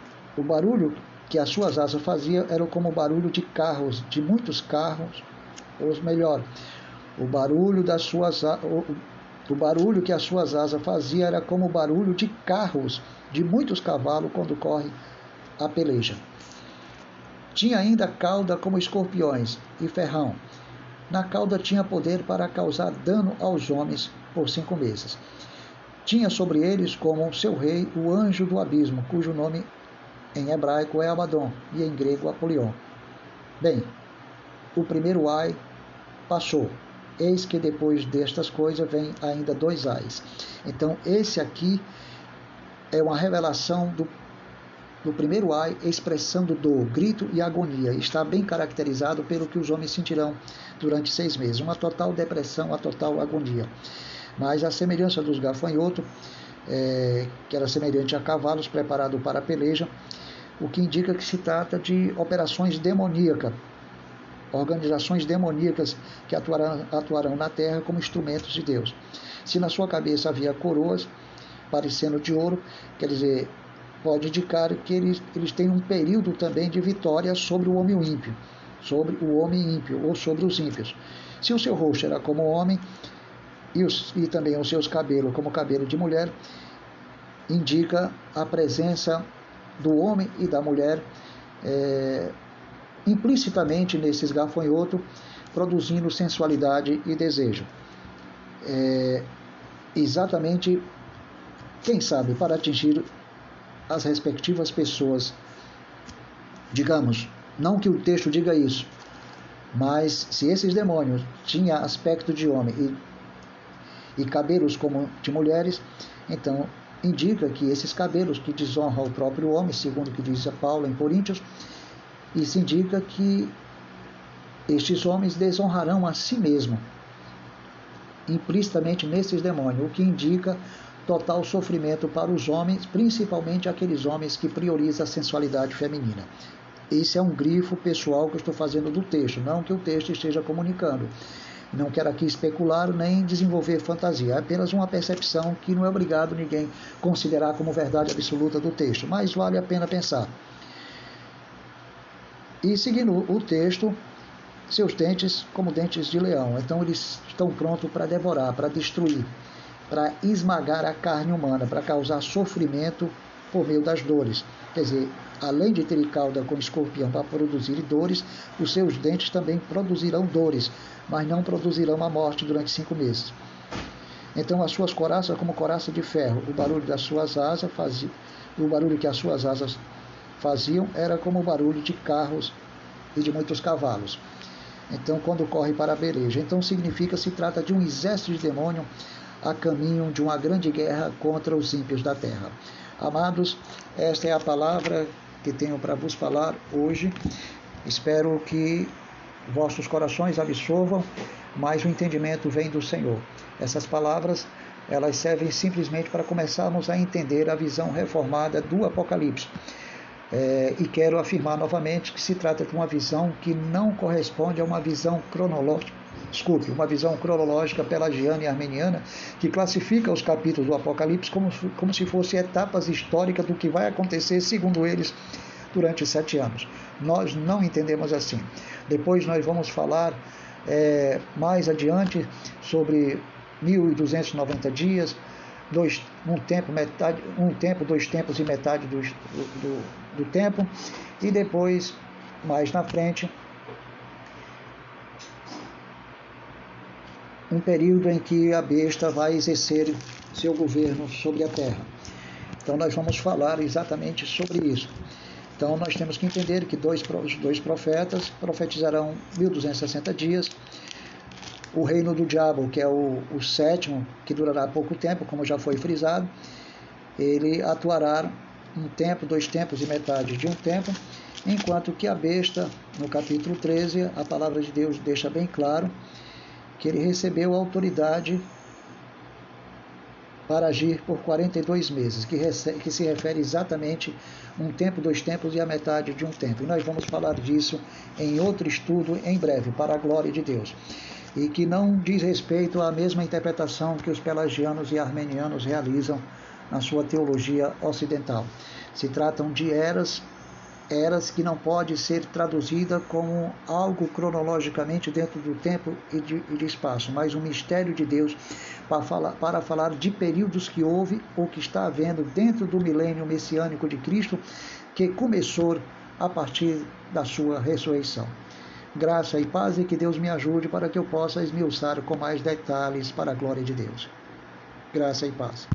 era como o barulho de carros, de muitos carros, ou melhor, o barulho que as suas asas faziam era como o barulho de carros, de muitos cavalos quando corre a peleja. Tinha ainda cauda como escorpiões e ferrão. Na cauda tinha poder para causar dano aos homens por 5 meses. Tinha sobre eles como seu rei o anjo do abismo, cujo nome em hebraico é Abaddon e em grego Apolion. Bem, o primeiro ai passou. Eis que depois destas coisas vem ainda 2 ais. Então esse aqui é uma revelação do primeiro ai, expressando dor, grito e agonia. Está bem caracterizado pelo que os homens sentirão durante 6 meses. Uma total depressão, uma total agonia. Mas a semelhança dos gafanhotos, que era semelhante a cavalos preparados para a peleja, o que indica que se trata de operações demoníacas, organizações demoníacas que atuarão na terra como instrumentos de Deus. Se na sua cabeça havia coroas parecendo de ouro, quer dizer, pode indicar que eles têm um período também de vitória sobre o homem ímpio, ou sobre os ímpios. Se o seu rosto era como homem, e também os seus cabelos como cabelo de mulher, indica a presença do homem e da mulher implicitamente nesses gafanhotos, produzindo sensualidade e desejo. Exatamente, quem sabe, para atingir as respectivas pessoas. Digamos, não que o texto diga isso, mas se esses demônios tinham aspecto de homem e cabelos como de mulheres, então indica que esses cabelos que desonram o próprio homem, segundo o que diz Paulo em Coríntios, isso indica que estes homens desonrarão a si mesmo, implicitamente nesses demônios, o que indica total sofrimento para os homens, principalmente aqueles homens que priorizam a sensualidade feminina. Esse é um grifo pessoal que eu estou fazendo do texto, não que o texto esteja comunicando. Não quero aqui especular nem desenvolver fantasia, é apenas uma percepção que não é obrigado ninguém considerar como verdade absoluta do texto, mas vale a pena pensar. E seguindo o texto, seus dentes como dentes de leão, então eles estão prontos para devorar, para destruir, para esmagar a carne humana, para causar sofrimento por meio das dores. Quer dizer, além de ter cauda com escorpião para produzir dores, os seus dentes também produzirão dores, mas não produzirão a morte durante 5 meses. Então as suas coraças como coraça de ferro, o barulho que as suas asas faziam era como o barulho de carros e de muitos cavalos. Então quando corre para a peleja, então significa se trata de um exército de demônio a caminho de uma grande guerra contra os ímpios da terra. Amados, esta é a palavra que tenho para vos falar hoje. Espero que vossos corações absorvam, mas o entendimento vem do Senhor. Essas palavras, elas servem simplesmente para começarmos a entender a visão reformada do Apocalipse. E quero afirmar novamente que se trata de uma visão que não corresponde a uma visão cronológica pelagiana e armeniana, que classifica os capítulos do Apocalipse como se fossem etapas históricas do que vai acontecer, segundo eles, durante 7 anos. Nós não entendemos assim. Depois nós vamos falar mais adiante sobre 1290 dias, um tempo, 2 tempos e metade do tempo, e depois, mais na frente, um período em que a besta vai exercer seu governo sobre a terra. Então nós vamos falar exatamente sobre isso. Então nós temos que entender que os dois profetas profetizarão 1260 dias. O reino do diabo, que é o 7º, que durará pouco tempo, como já foi frisado, ele atuará 1 tempo, 2 tempos e metade de 1 tempo, enquanto que a besta, no capítulo 13, a palavra de Deus deixa bem claro que ele recebeu a autoridade para agir por 42 meses, que se refere exatamente um tempo, 2 tempos e a metade de um tempo. E nós vamos falar disso em outro estudo em breve, para a glória de Deus. E que não diz respeito à mesma interpretação que os pelagianos e armenianos realizam na sua teologia ocidental. Se tratam de eras que não pode ser traduzida como algo cronologicamente dentro do tempo e de espaço, mas um mistério de Deus para falar de períodos que houve ou que está havendo dentro do milênio messiânico de Cristo, que começou a partir da sua ressurreição. Graça e paz, e que Deus me ajude para que eu possa esmiuçar com mais detalhes para a glória de Deus. Graça e paz.